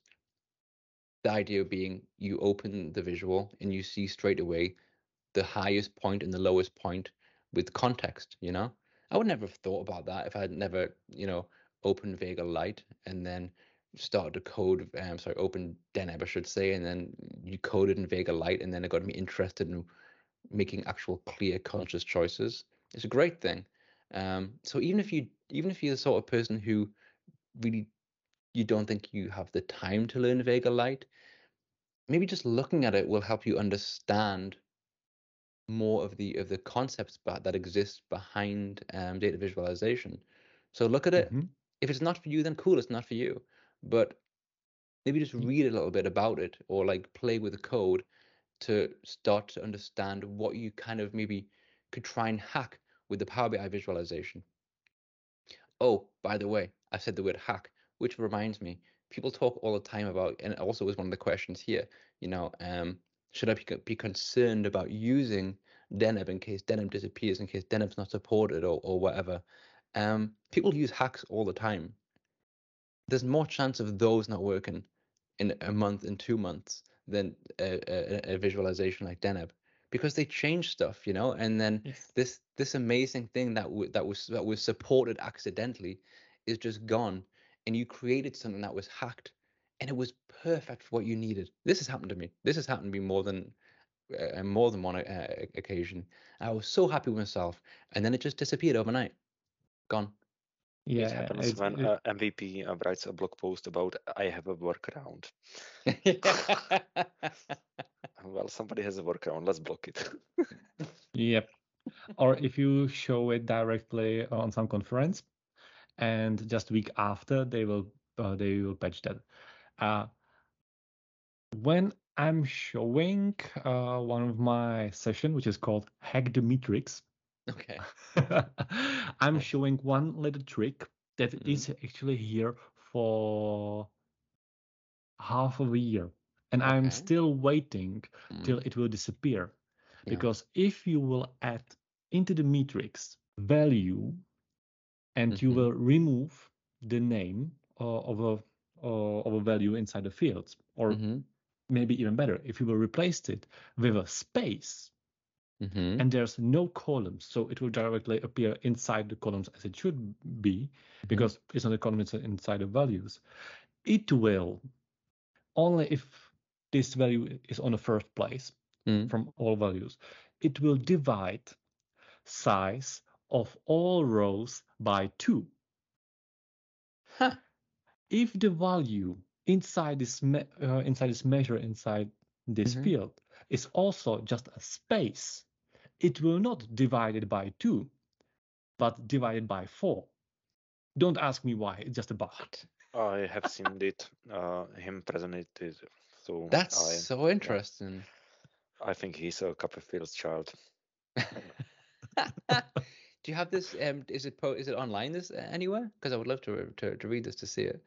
The idea being you open the visual and you see straight away the highest point and the lowest point with context, you know? I would never have thought about that if I had never, you know, opened Vega Lite and then started to code, open Deneb, I should say, and then you coded in Vega Lite, and then it got me interested in making actual clear, conscious choices. It's a great thing. So even if you're the sort of person who really you don't think you have the time to learn Vega Lite, maybe just looking at it will help you understand more of the concepts that exist behind data visualization. So look at it. If it's not for you, then cool, it's not for you. But maybe just read a little bit about it, or like play with the code to start to understand what you kind of maybe could try and hack with the Power BI visualization. Oh, by the way, I said the word hack, which reminds me, people talk all the time about, and also was one of the questions here, should I be concerned about using Deneb in case Deneb disappears, in case Deneb's not supported or whatever? People use hacks all the time. There's more chance of those not working in a month, in 2 months, than a visualization like Deneb, because they change stuff, and then this amazing thing that was supported accidentally is just gone, and you created something that was hacked, and it was perfect for what you needed. This has happened to me. This has happened to me more than one occasion. I was so happy with myself, and then it just disappeared overnight, gone. Yeah, it happens when MVP writes a blog post about I have a workaround. Well, somebody has a workaround. Let's block it. Yep. Or if you show it directly on some conference, and just a week after they will patch that. When I'm showing one of my session, which is called Hack the Matrix. Okay. I'm showing one little trick that is actually here for half of a year, and I'm still waiting till it will disappear. Because if you will add into the matrix value and you will remove the name of a value inside the fields, or maybe even better, if you will replace it with a space, and there's no columns, so it will directly appear inside the columns as it should be, because it's not a column, it's inside the values. It will, only if this value is on the first place from all values, it will divide size of all rows by 2. Huh. If the value inside this measure inside this field is also just a space, it will not divide it by 2, but divided by 4. Don't ask me why. It's just a bug. I have seen it. Him present it. So that's so interesting. Yeah. I think he's a Copperfield's child. Do you have this? Is it online this anywhere? Because I would love to read this, to see it.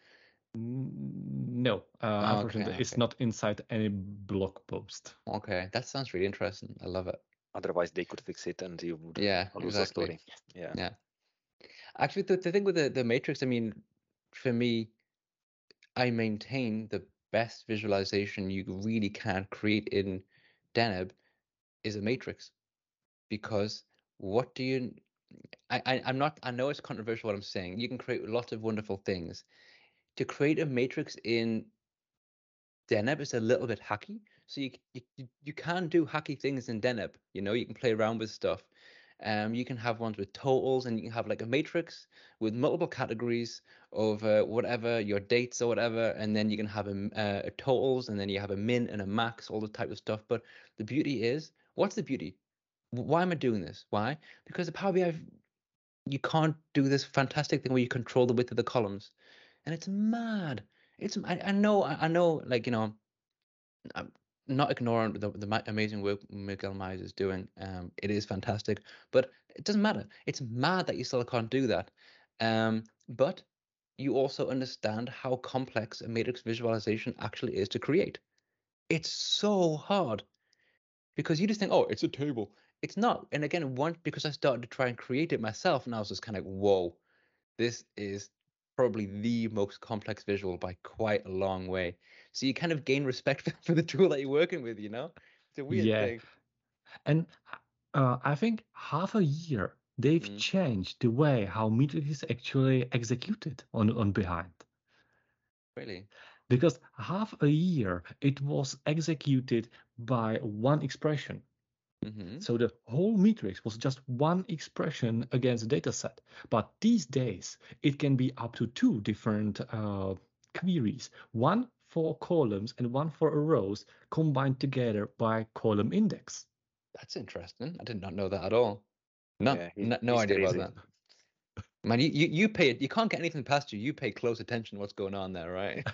No, unfortunately, it's not inside any blog post. Okay, that sounds really interesting. I love it. Otherwise, they could fix it, and you would lose the story. Yeah. Actually, the thing with the matrix, I mean, for me, I maintain the best visualization you really can create in Deneb is a matrix, because what do you? I'm not. I know it's controversial what I'm saying. You can create lots of wonderful things. To create a matrix in Deneb is a little bit hacky, so you can do hacky things in Deneb. You can play around with stuff. You can have ones with totals, and you can have like a matrix with multiple categories of whatever your dates or whatever, and then you can have a totals, and then you have a min and a max, all the type of stuff. But the beauty is, what's the beauty? Why am I doing this? Why? Because the Power BI, you can't do this fantastic thing where you control the width of the columns, and it's mad. I know, like, I'm not ignoring the amazing work Miguel Myers is doing. It is fantastic, but it doesn't matter. It's mad that you still can't do that. But you also understand how complex a matrix visualization actually is to create. It's so hard, because you just think, oh, it's a table. It's not. And again, because I started to try and create it myself, and I was just kind of like, whoa, this is probably the most complex visual by quite a long way. So you kind of gain respect for the tool that you're working with, It's a weird thing. And I think half a year they've changed the way how matrix is actually executed on behind. Really? Because half a year it was executed by one expression. So the whole matrix was just one expression against a data set. But these days, it can be up to 2 different queries, one for columns and one for rows, combined together by column index. That's interesting. I did not know that at all. No idea about that. Man, you pay it. You can't get anything past you. You pay close attention to what's going on there, right?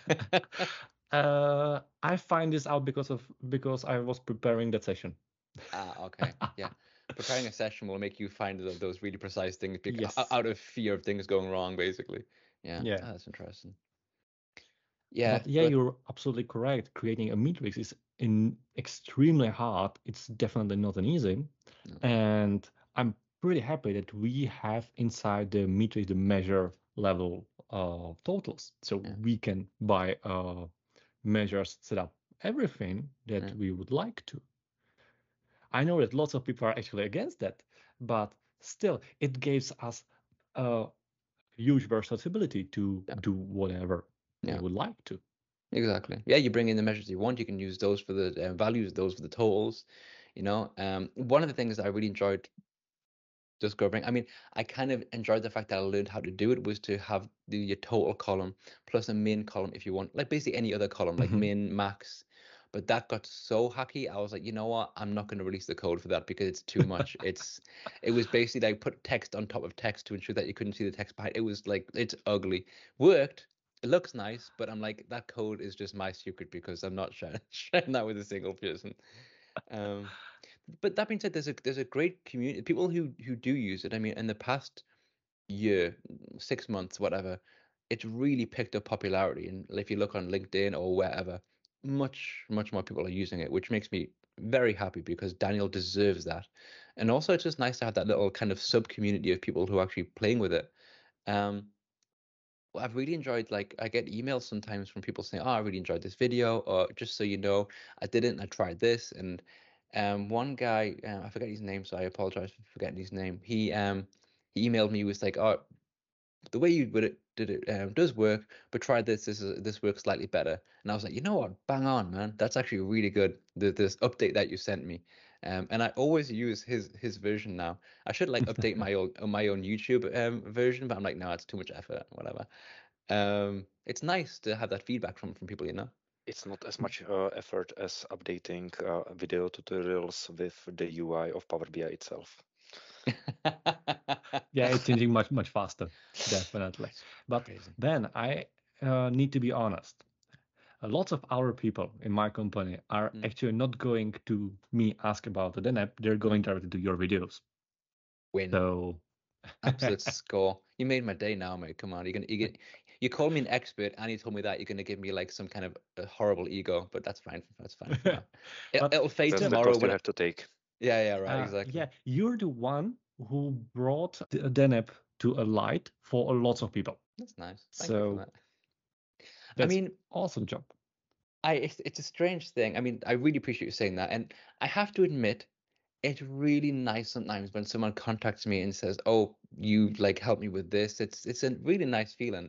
I find this out because I was preparing that session. Okay. Yeah. Preparing a session will make you find those really precise things out of fear of things going wrong, basically. Yeah. Oh, that's interesting. Yeah, but yeah, you're absolutely correct. Creating a matrix is extremely hard. It's definitely not an easy. No. And I'm pretty happy that we have inside the matrix the measure level totals. So we can by measures set up everything that we would like to. I know that lots of people are actually against that, but still, it gives us a huge versatility to do whatever we would like to. Exactly. Yeah, you bring in the measures you want. You can use those for the values, those for the totals. You know, one of the things I really enjoyed discovering, I mean, I kind of enjoyed the fact that I learned how to do it was to have your total column plus a min column if you want, like basically any other column, like min, max. But that got so hacky. I was like, you know what? I'm not going to release the code for that because it's too much. It was basically like put text on top of text to ensure that you couldn't see the text behind. It was like, it's ugly. Worked. It looks nice, but I'm like, that code is just my secret because I'm not sharing that with a single person. But that being said, there's a great community, people who do use it. I mean, in the past year, 6 months, whatever, it's really picked up popularity. And if you look on LinkedIn or wherever, much more people are using it, which makes me very happy because Daniel deserves that. And also, it's just nice to have that little kind of sub community of people who are actually playing with it. I've really enjoyed, like, I get emails sometimes from people saying, oh, I really enjoyed this video, or just so you know, I didn't, I tried this. And one guy, I forget his name, so I apologize for forgetting his name. He emailed me, he was like, oh, the way you did it does work, but try this. This works slightly better. And I was like, you know what? Bang on, man. That's actually really good. This update that you sent me. And I always use his version now. I should like update my own YouTube version, but I'm like, no, it's too much effort. Whatever. It's nice to have that feedback from people, you know. It's not as much effort as updating video tutorials with the UI of Power BI itself. Yeah, it's changing much faster, definitely. But then I need to be honest. Lots of our people in my company are actually not going to me ask about the DNAP. They're going directly to your videos. Win. So absolute score. You made my day now, mate. Come on, you called me an expert, and you told me that you're gonna give me like some kind of a horrible ego, but that's fine. That's fine for now. It'll fade tomorrow. The cost you have to take. Yeah, right, exactly. Yeah, you're the one who brought the DNAP to a light for lots of people. That's nice. Thank you for that. I mean, awesome job. It's a strange thing. I mean, I really appreciate you saying that, and I have to admit, it's really nice sometimes when someone contacts me and says, "Oh, you like helped me with this." It's a really nice feeling.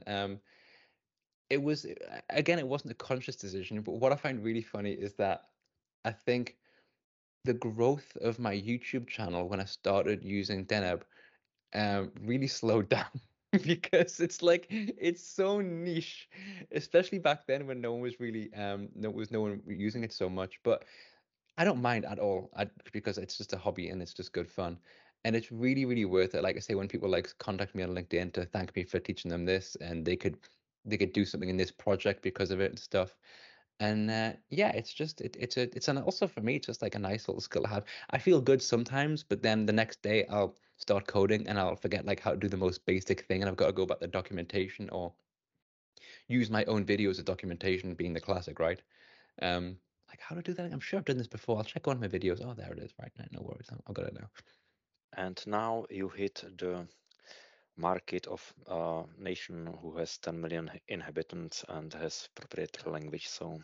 It was, again, it wasn't a conscious decision, but what I find really funny is that I think the growth of my YouTube channel when I started using Deneb really slowed down because it's like it's so niche, especially back then when no one was really no one using it so much. But I don't mind at all because it's just a hobby and it's just good fun. And it's really, really worth it. Like I say, when people like contact me on LinkedIn to thank me for teaching them this, and they could do something in this project because of it and stuff. And yeah, it's just it's an also for me, it's just like a nice little skill to have. I feel good sometimes, but then the next day I'll start coding and I'll forget like how to do the most basic thing, and I've got to go back to documentation or use my own videos as documentation, being the classic, right? Like how to do that? I'm sure I've done this before. I'll check one of my videos. Oh, there it is. Right, no worries. I've got it now. And now you hit the market of a nation who has 10 million inhabitants and has proprietary language. So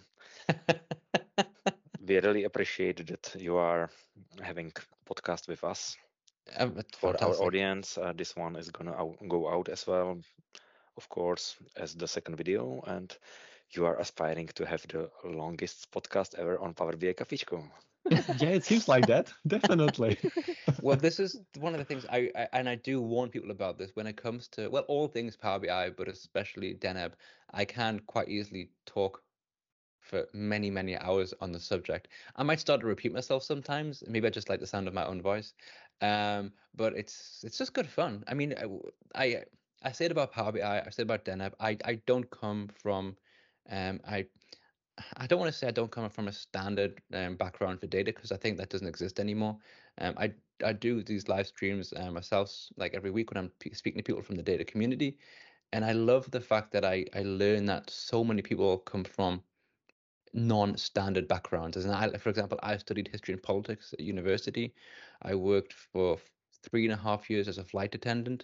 we really appreciate that you are having podcast with us. For our audience, this one is gonna go out as well, of course, as the second video, and you are aspiring to have the longest podcast ever on Power BI Kafičko. Yeah, it seems like that. Definitely. Well, this is one of the things I do warn people about this when it comes to, well, all things Power BI, but especially Deneb. I can quite easily talk for many, many hours on the subject. I might start to repeat myself sometimes. Maybe I just like the sound of my own voice. But it's just good fun. I mean, I say it about Power BI. I say about Deneb. I don't come from, I don't want to say I don't come from a standard background for data because I think that doesn't exist anymore. I do these live streams myself, like every week when I'm speaking to people from the data community, And I love the fact that I learned that so many people come from non-standard backgrounds. For example, I studied history and politics at university. I worked for 3.5 years as a flight attendant.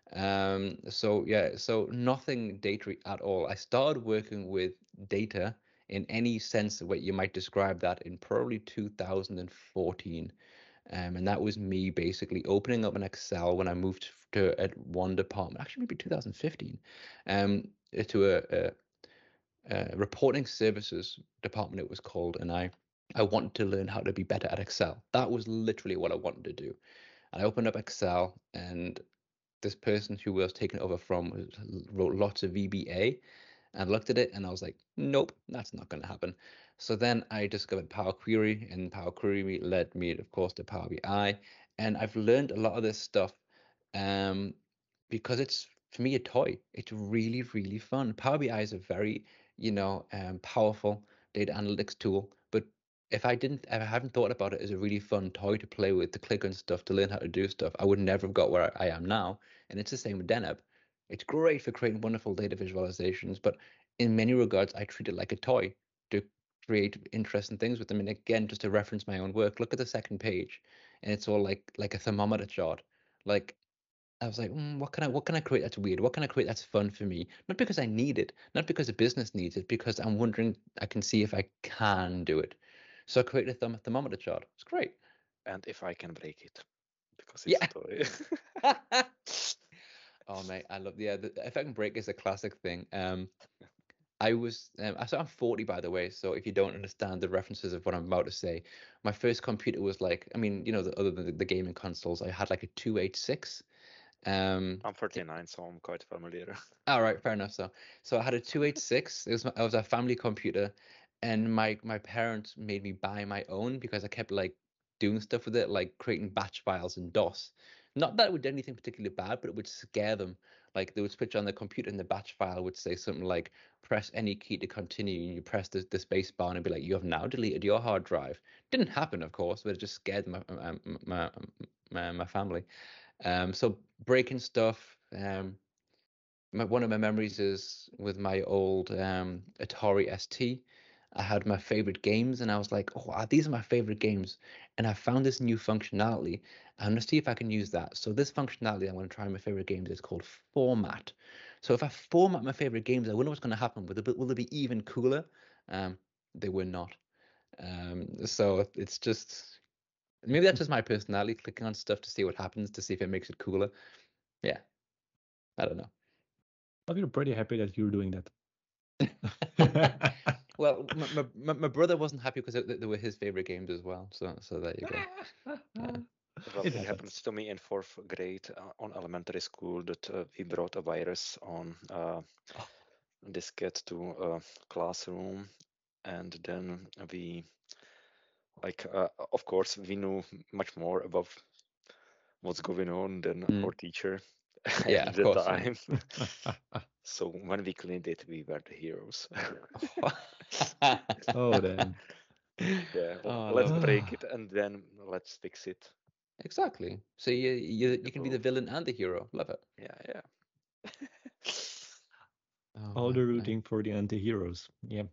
So nothing data at all. I started working with data in any sense of what you might describe that in probably 2014. And that was me basically opening up an Excel when I moved to one department, actually maybe 2015, to a reporting services department it was called, and I wanted to learn how to be better at Excel. That was literally what I wanted to do. And I opened up Excel, and this person who I was taking over from wrote lots of VBA, and looked at it and I was like, nope, that's not going to happen. So then I discovered Power Query, and Power Query led me, of course, to Power BI. And I've learned a lot of this stuff because it's, for me, a toy. It's really, really fun. Power BI is a very, powerful data analytics tool. But if I haven't thought about it as a really fun toy to play with, to click on stuff, to learn how to do stuff, I would never have got where I am now. And it's the same with Deneb. It's great for creating wonderful data visualizations, but in many regards, I treat it like a toy to create interesting things with them. And again, just to reference my own work, look at the second page, and it's all like a thermometer chart. Like, I was like, what can I create that's weird? What can I create that's fun for me? Not because I need it, not because the business needs it, because I'm wondering, I can see if I can do it. So I created a thermometer chart. It's great. And if I can break it, because it's a toy. Oh mate, I love the if I can break is a classic thing. So I'm 40 by the way, so if you don't understand the references of what I'm about to say, my first computer was like, I mean, other than the gaming consoles, I had like a 286. I'm 39, so I'm quite familiar. All right, fair enough. So I had a 286. It was a family computer, and my parents made me buy my own because I kept like doing stuff with it, like creating batch files in DOS. Not that it would do anything particularly bad, but it would scare them. Like they would switch on the computer and the batch file would say something like, press any key to continue, and you press the space bar and it'd be like, you have now deleted your hard drive. Didn't happen, of course, but it just scared my family. So breaking stuff. One of my memories is with my old Atari ST. I had my favorite games, and I was like, "Oh, these are my favorite games." And I found this new functionality. I'm gonna see if I can use that. So this functionality I'm gonna try my favorite games is called format. So if I format my favorite games, I wonder what's gonna happen. Will they be even cooler? They were not. So it's just, maybe that's just my personality, clicking on stuff to see what happens, to see if it makes it cooler. Yeah, I don't know. I feel pretty happy that you're doing that. Well, my brother wasn't happy because they were his favorite games as well. So there you go. Yeah. Well, it happens to me in 4th grade on elementary school that we brought a virus on diskette to a classroom, and then we, of course, we knew much more about what's going on than our teacher at the time. So when we cleaned it, we were the heroes. Oh, damn. Yeah, let's break it and then let's fix it. Exactly. So you can be the villain and the hero. Love it. Yeah. All the rooting for the anti-heroes. Yeah.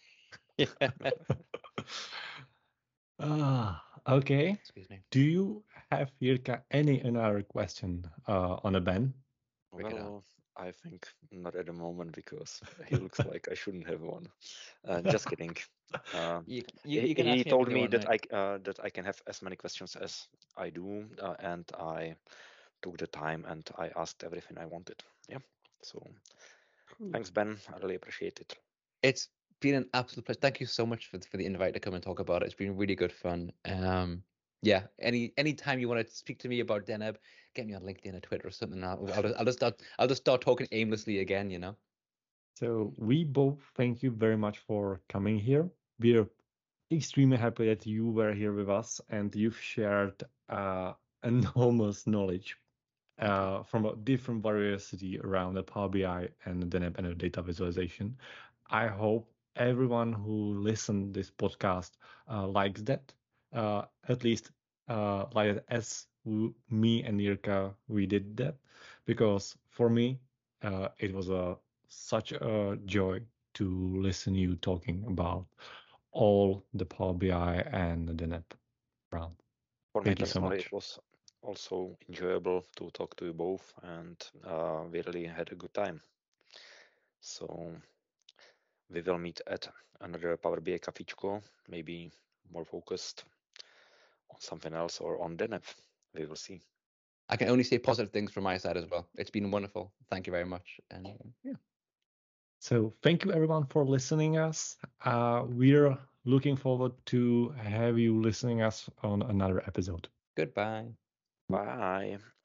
Okay. Excuse me. Do you have, Jirka, any another question on a Ben? Well, I think not at the moment because he looks like I shouldn't have one. Just kidding. He told me that I can have as many questions as I do, and I took the time and I asked everything I wanted. Yeah. So thanks, Ben. I really appreciate it. It's been an absolute pleasure. Thank you so much for the invite to come and talk about it. It's been really good fun. Yeah. Any time you want to speak to me about Deneb, get me on LinkedIn or Twitter or something. I'll just start talking aimlessly again. So we both thank you very much for coming here. We're extremely happy that you were here with us and you've shared enormous knowledge from a different variety around the Power BI and the Deneb and the data visualization. I hope everyone who listened this podcast likes that, at least like as me and Jirka, we did that, because for me, it was such a joy to listen you talking about all the Power BI and the DENEP round. For me personally, it was also enjoyable to talk to you both, and we really had a good time. So we will meet at another Power BI Cafíčko, maybe more focused on something else or on DENEP. We will see. I can only say positive things from my side as well. It's been wonderful. Thank you very much. And yeah. So thank you everyone for listening us. We're looking forward to have you listening us on another episode. Goodbye. Bye.